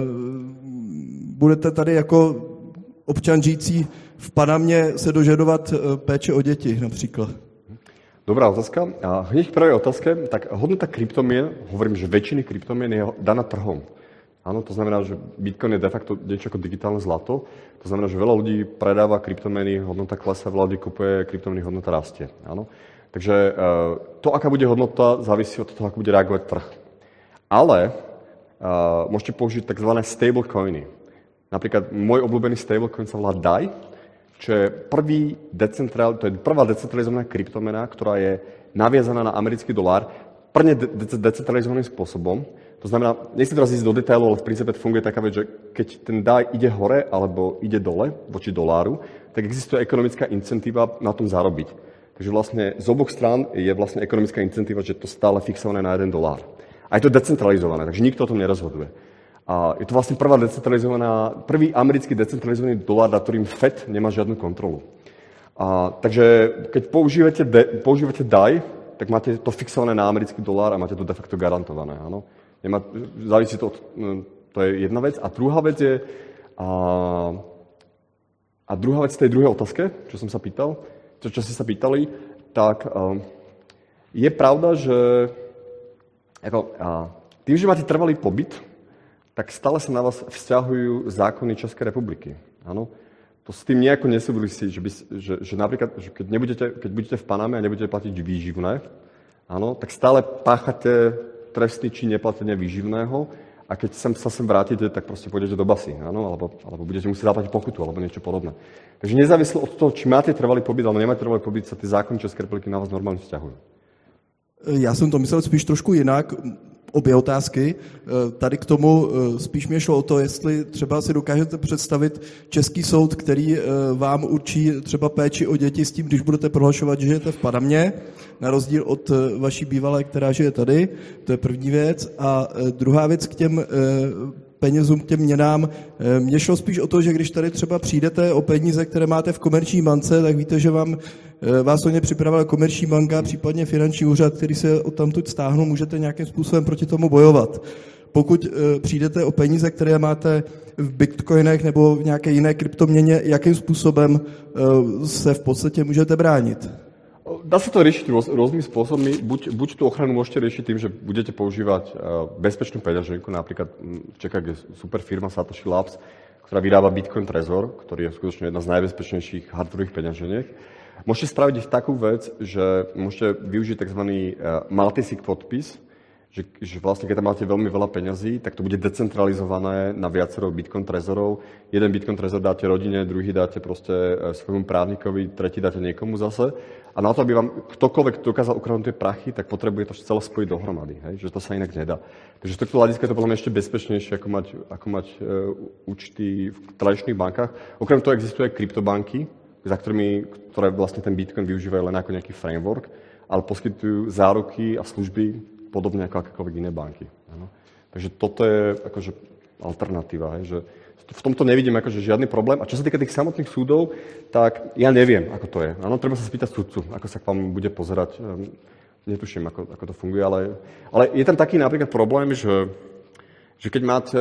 budete tady jako občan žijící v Panamě se dožadovat uh, péče o děti například? Dobrá otázka. A hneď k prvej otázke, tak hodnota kryptomien, hovorím, že väčšiny kryptomien je daná trhom. Áno, to znamená, že Bitcoin je de facto niečo ako digitálne zlato. To znamená, že veľa ľudí predáva kryptomeny, hodnota klesá, veľa ľudí kupuje kryptomeny, hodnota rastie. Áno. Takže to, aká bude hodnota, závisí od toho, ako bude reagovať trh. Ale uh, môžete použiť tzv. Stablecoiny. Napríklad môj obľúbený stablecoin sa volá D A I, čo je prvý decentrál, to je prvá decentralizovaná kryptomena, ktorá je naviazaná na americký dolár, prvne de- de- decentralizovaným spôsobom. To znamená, nechcem teraz ísť do detailov, ale v princípe funguje taká vec, že keď ten D A I ide hore alebo ide dole voči doláru, tak existuje ekonomická incentíva na tom zarobiť. Takže vlastne z oboch strán je vlastne ekonomická incentíva, že to stále fixované na jeden dolár. A je to decentralizované, takže nikto o tom nerozhoduje. A je to vlastne prvá decentralizovaná, prvý americký decentralizovaný dolár, na ktorým Fed nemá žiadnu kontrolu. A, takže keď používate, de, používate D A I, tak máte to fixované na americký dolár a máte to de facto garantované. Áno? Nemá, závisí to od, to je jedna vec. A druhá vec je, a, a druhá vec tej druhej otázke, čo som sa pýtal, čo, čo ste sa pýtali, tak a, je pravda, že ako, a, tým, že máte trvalý pobyt, tak stále sa na vás vzťahujú zákony Českej republiky. Áno? To s tým nejako nesúvisí, že, by, že, že napríklad, že keď, nebudete, keď budete v Paname a nebudete platiť výživné, áno, tak stále páchate trestný čin neplatenia výživného a keď sem, sa sem vrátite, tak proste pôjdete do basy, áno, alebo, alebo budete musieť zaplatiť pokutu, alebo niečo podobné. Takže nezávisle od toho, či máte trvalý pobyt, alebo nemáte trvalý pobyt, sa tie zákony Českej republiky na vás normálne vzťahujú. Já jsem to myslel spíš trošku jinak. Obě otázky. Tady k tomu spíš mě šlo o to, jestli třeba si dokážete představit český soud, který vám určí třeba péči o děti s tím, když budete prohlašovat, že žijete v Panamě, na rozdíl od vaší bývalé, která žije tady. To je první věc. A druhá věc k těm penězům, k těm měnám. Mně šlo spíš o to, že když tady třeba přijdete o peníze, které máte v komerční bance, tak víte, že vám vás o ně připravila komerční banka, případně finanční úřad, který se odtamtud stáhnou, můžete nějakým způsobem proti tomu bojovat. Pokud přijdete o peníze, které máte v bitcoinech nebo v nějaké jiné kryptoměně, jakým způsobem se v podstatě můžete bránit? Dá sa to riešiť rôz, rôznymi spôsobmi. Buď, buď tú ochranu môžete riešiť tým, že budete používať uh, bezpečnú peňaženku, napríklad v Čechách je super firma Satoshi Labs, ktorá vyrába Bitcoin Trezor, ktorý je skutočne jedna z najbezpečnejších hardwareových peňaženiek. Môžete spraviť ich takú vec, že môžete využiť tzv. Uh, multisig podpis, že, že vlastne keď tam máte veľmi veľa peňazí, tak to bude decentralizované na viacero Bitcoin Trezorov. Jeden Bitcoin Trezor dáte rodine, druhý dáte proste svojmu právnikovi, tretí dáte niekomu zase. A na to, aby vám ktokoľvek dokázal ukradnúť tie prachy, tak potrebuje to celé spojiť dohromady, hej? Že to sa inak nedá. Takže z tohto hľadiska je to podľa mňa ešte bezpečnejšie, ako mať, ako mať e, účty v tradičných bankách. Okrem toho existujú aj kryptobanky, za ktorými, ktoré vlastne ten Bitcoin využívajú len ako nejaký framework, ale poskytujú záruky a služby podobne ako akékoľvek iné banky. Ano. Takže toto je akože alternatíva, hej, že v tomto nevidím akože žiadny problém. A čo sa týka tých samotných súdov, tak ja neviem, ako to je. Áno, treba sa spýtať sudcu, ako sa k vám bude pozerať. Netuším, ako, ako to funguje, ale, ale je tam taký napríklad problém, že, že keď máte,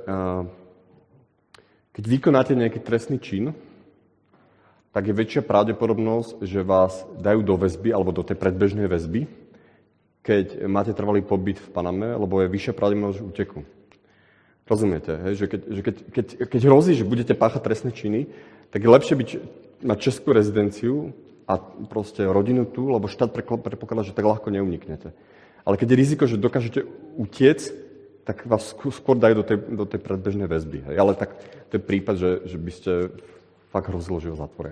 keď vykonáte nejaký trestný čin, tak je väčšia pravdepodobnosť, že vás dajú do väzby alebo do tej predbežnej väzby, keď máte trvalý pobyt v Paname, lebo je vyššia pravdepodobnosť úteku. Rozumiete, hej? Že, keď, že keď, keď, keď hrozí, že budete páchať trestné činy, tak je lepšie byť, mať českú rezidenciu a proste rodinu tu, lebo štát predpokladá, že tak ľahko neuniknete. Ale keď je riziko, že dokážete utiec, tak vás skôr dajú do tej, do tej predbežnej väzby. Hej? Ale tak to je prípad, že, že by ste fakt hrozilo, že ho zatvoria.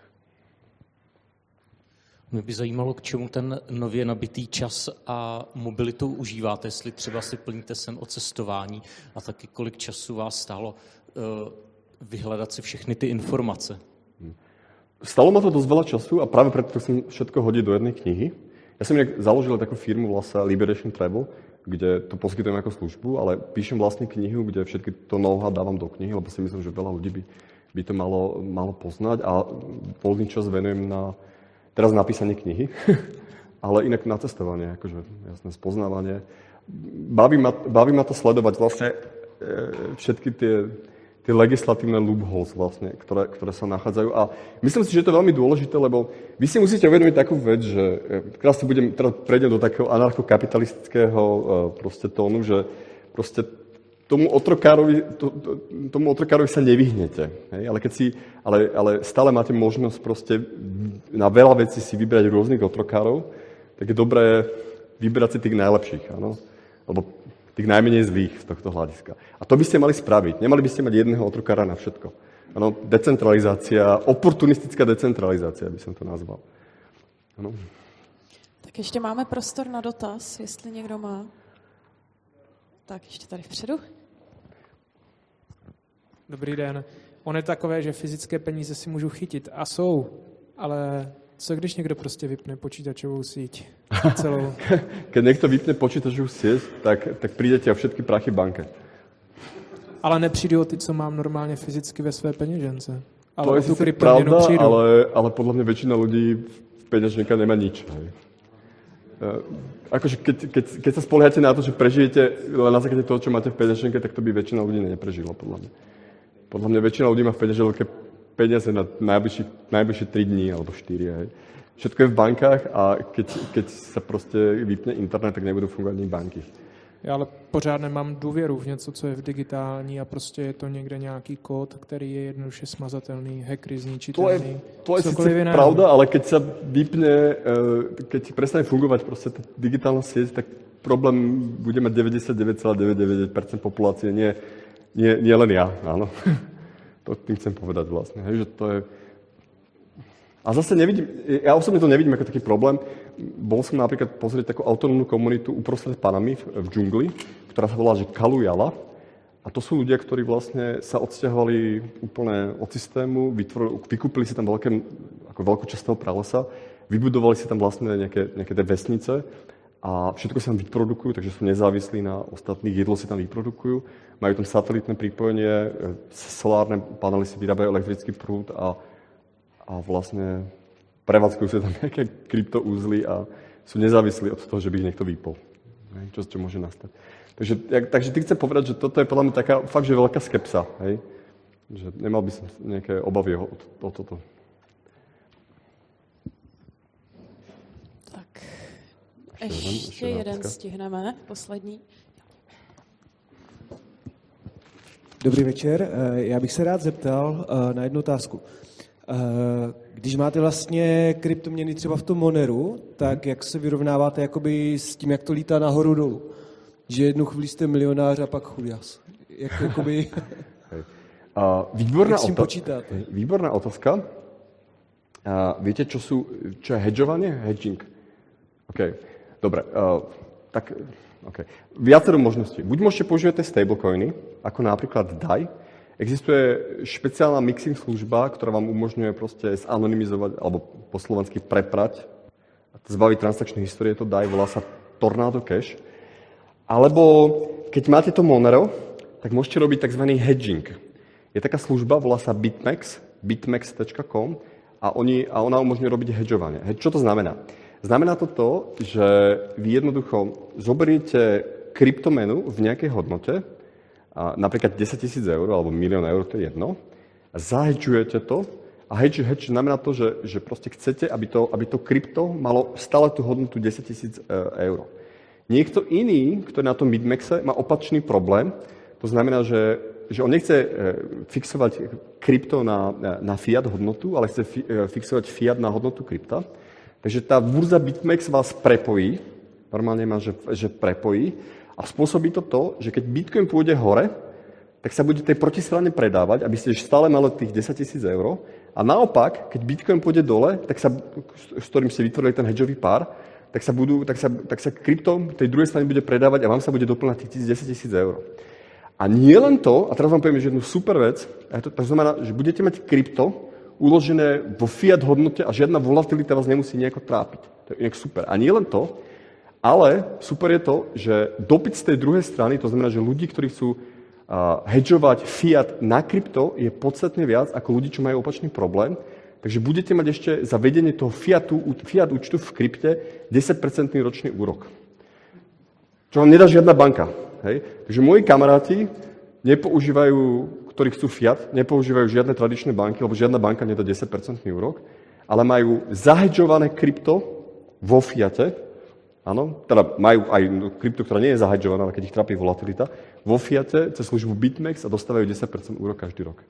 Mě by zajímalo, k čemu ten nově nabitý čas a mobilitu užíváte, jestli třeba si plníte sen o cestování a taky kolik času vás stálo uh, vyhledat si všechny ty informace. Stalo ma to dosť veľa času a práve preto som všetko hodil do jednej knihy. Ja som inak založil takú firmu vlastne Liberation Travel, kde to poskytujem ako službu, ale píšem vlastne knihu, kde všetky to know-how dávam do knihy, lebo si myslím, že veľa ľudí by, by to malo, malo poznať a voľný čas venujem na teraz napísanie knihy, ale inak na cestovanie, akože jasné spoznávanie. Baví ma, baví ma to sledovať vlastne e, všetky tie, tie legislatívne loopholes vlastne, ktoré, ktoré sa nachádzajú. A myslím si, že to je veľmi dôležité, lebo vy si musíte uvedomiť takú vec, že teraz, budem, teraz prejdem do takého anarchokapitalistického e, proste tónu, že proste tomu otrokárovi, to, to, tomu otrokárovi sa nevyhnete. Hej? Ale, keď si, ale, ale stále máte možnosť proste na veľa vecí si vybrať rôznych otrokárov, tak je dobré vybrať si tých najlepších, áno? Alebo tých najmenej zlých z tohto hľadiska. A to by ste mali spraviť. Nemali by ste mať jedného otrokára na všetko. Áno? Decentralizácia, oportunistická decentralizácia by som to nazval. Áno? Tak ještě máme prostor na dotaz, jestli někdo má. Tak ještě tady vpředu. Dobrý den. On je takové, že fyzické peníze si můžu chytit a jsou, ale co když někdo prostě vypne počítačovou síť celou? Keď niekto vypne počítačovú sieť, tak, tak prídete o všetky prachy banke. Ale nepřijdu o ty, co mám normálně fyzicky ve své peněžence. Ale to je tu sice pravda, přijdu. ale, ale podľa mňa väčšina ľudí v peňaženke nemá nič. Hej. Akože keď, keď, keď sa spoliehate na to, že prežijete len na základe toho, čo máte v peňaženke, tak to by väčšina ľudí neprežila, podľa mňa. Podľa mňa väčšina ľudí má v peňaženke peniaze na najbližšie, najbližšie tri dní alebo štyri. Hej. Všetko je v bankách a keď, keď sa proste vypne internet, tak nebudú fungovať ani banky. Já ale pořád nemám důvěru v něco, co je v digitální a prostě je to někde nějaký kód, který je jednoduše smazatelný, hackery zničitelný. To je, to je sice pravda, ale keď sa vypne, keď prestane fungovať proste tá digitálna sieť, tak problém bude mať deväťdesiatdeväť celá deväťdesiatdeväť percent populácie, nie, nie, nie len ja, áno. To tým chcem povedať vlastne, hej, že to je... A zase nevidím, ja osobne to nevidím ako taký problém. Bol som napríklad pozrieť takú autonómnu komunitu uprostred Panamy v, v džungli, ktorá sa volá, že Kalujala. A to sú ľudia, ktorí vlastne sa odsťahovali úplne od systému, vytvorili, vykúpili si tam veľké, ako veľkú časť toho pralesa, vybudovali si tam vlastne nejaké, nejaké tie vesnice a všetko si tam vyprodukujú, takže sú nezávislí na ostatných, jedlo si tam vyprodukujú, majú tam satelitné pripojenie, solárne panely si vyrábajú elektrický prúd a a vlastne prevádzkujú sa tam nejaké kryptoúzly a sú nezávislí od toho, že by ich niekto vypol. Čo, čo môže nastať. Takže, jak, takže ty chcem povedať, že toto je podľa mňa taká fakt, že veľká skepsa. Hej? Že nemal by som nejaké obavy o, o toto. Tak, ještě, ještě jeden, jeden stihneme, poslední. Dobrý večer, já bych se rád zeptal na jednu otázku. Když máte vlastně kryptoměny třeba v tom Moneru, tak jak se vyrovnáváte jakoby s tím, jak to lítá nahoru dolů? Že jednu chvíli jste milionář a pak chudias. Jak jakoby... uh, výborná jak s tím otázka. počítáte? Výborná otázka. Uh, viete, čo, sú, čo je hedžovanie? Hedging. OK, dobre. Uh, tak, okay. Viacero možností. Buď môžete používať stablecoiny, ako napríklad D A I. Existuje špeciálna mixing služba, ktorá vám umožňuje proste zanonymizovať, alebo po slovensky preprať, a zbaviť transakčné histórie, to D A I, volá sa Tornado Cash. Alebo keď máte to Monero, tak môžete robiť tzv. Hedging. Je taká služba, volá sa Bitmex, bitmex tečka com a, oni, a ona umožňuje robiť hedžovanie. Čo to znamená? Znamená to to, že vy jednoducho zoberiete kryptomenu v nejakej hodnote, a napríklad desaťtisíc eur alebo milión eur, to je jedno, a zahedžujete to a hedge, hedge znamená to, že, že proste chcete, aby to, aby to krypto malo stále tú hodnotu desaťtisíc eur. Niekto iný, kto je na tom Bitmexe, má opačný problém, to znamená, že, že on nechce fixovať krypto na, na fiat hodnotu, ale chce fi, fixovať fiat na hodnotu krypta. Takže tá burza Bitmex vás prepojí, normálne má, že, že prepojí, a spôsobí to to, že keď Bitcoin pôjde hore, tak sa bude tej protistrane predávať, aby ste stále mali tých desaťtisíc eur. A naopak, keď Bitcoin pôjde dole, tak sa, s ktorým ste vytvorili ten hedžový pár, tak sa, budú, tak sa, tak sa krypto tej druhej strane bude predávať a vám sa bude doplňať tých desaťtisíc eur. A nie len to, a teraz vám poviem jednu super vec, a to, to znamená, že budete mať krypto uložené vo fiat hodnote a žiadna volatilita vás nemusí nejako trápiť. To je inak super. A nie len to, ale super je to, že dopyt z tej druhej strany, to znamená, že ľudí, ktorí chcú uh, hedžovať fiat na krypto, je podstatne viac ako ľudí, čo majú opačný problém. Takže budete mať ešte za vedenie toho fiatu, fiat účtu v krypte desať percent ročný úrok. Čo vám nedá žiadna banka. Hej? Takže moji kamaráti nepoužívajú, ktorí chcú fiat, nepoužívajú žiadne tradičné banky, lebo žiadna banka nedá desať percent úrok, ale majú zahedžované krypto vo fiate. Áno, teda majú aj krypto, ktorá nie je zahedžovaná, ale keď ich trápi volatilita, vo fiate cez službu Bitmex a dostávajú desať percent úrok každý rok.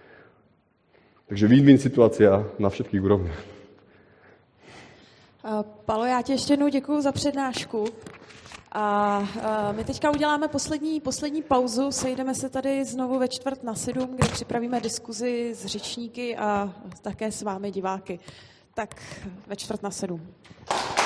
Takže win-win situácia na všetkých úrovniach. Palo, já ti ještě jednou děkuju za přednášku. A my teďka uděláme poslední, poslední pauzu, sejdeme se tady znovu ve čtvrt na sedm, kde připravíme diskuzi s řečníky a také s vámi diváky. Tak ve čtvrt na sedm.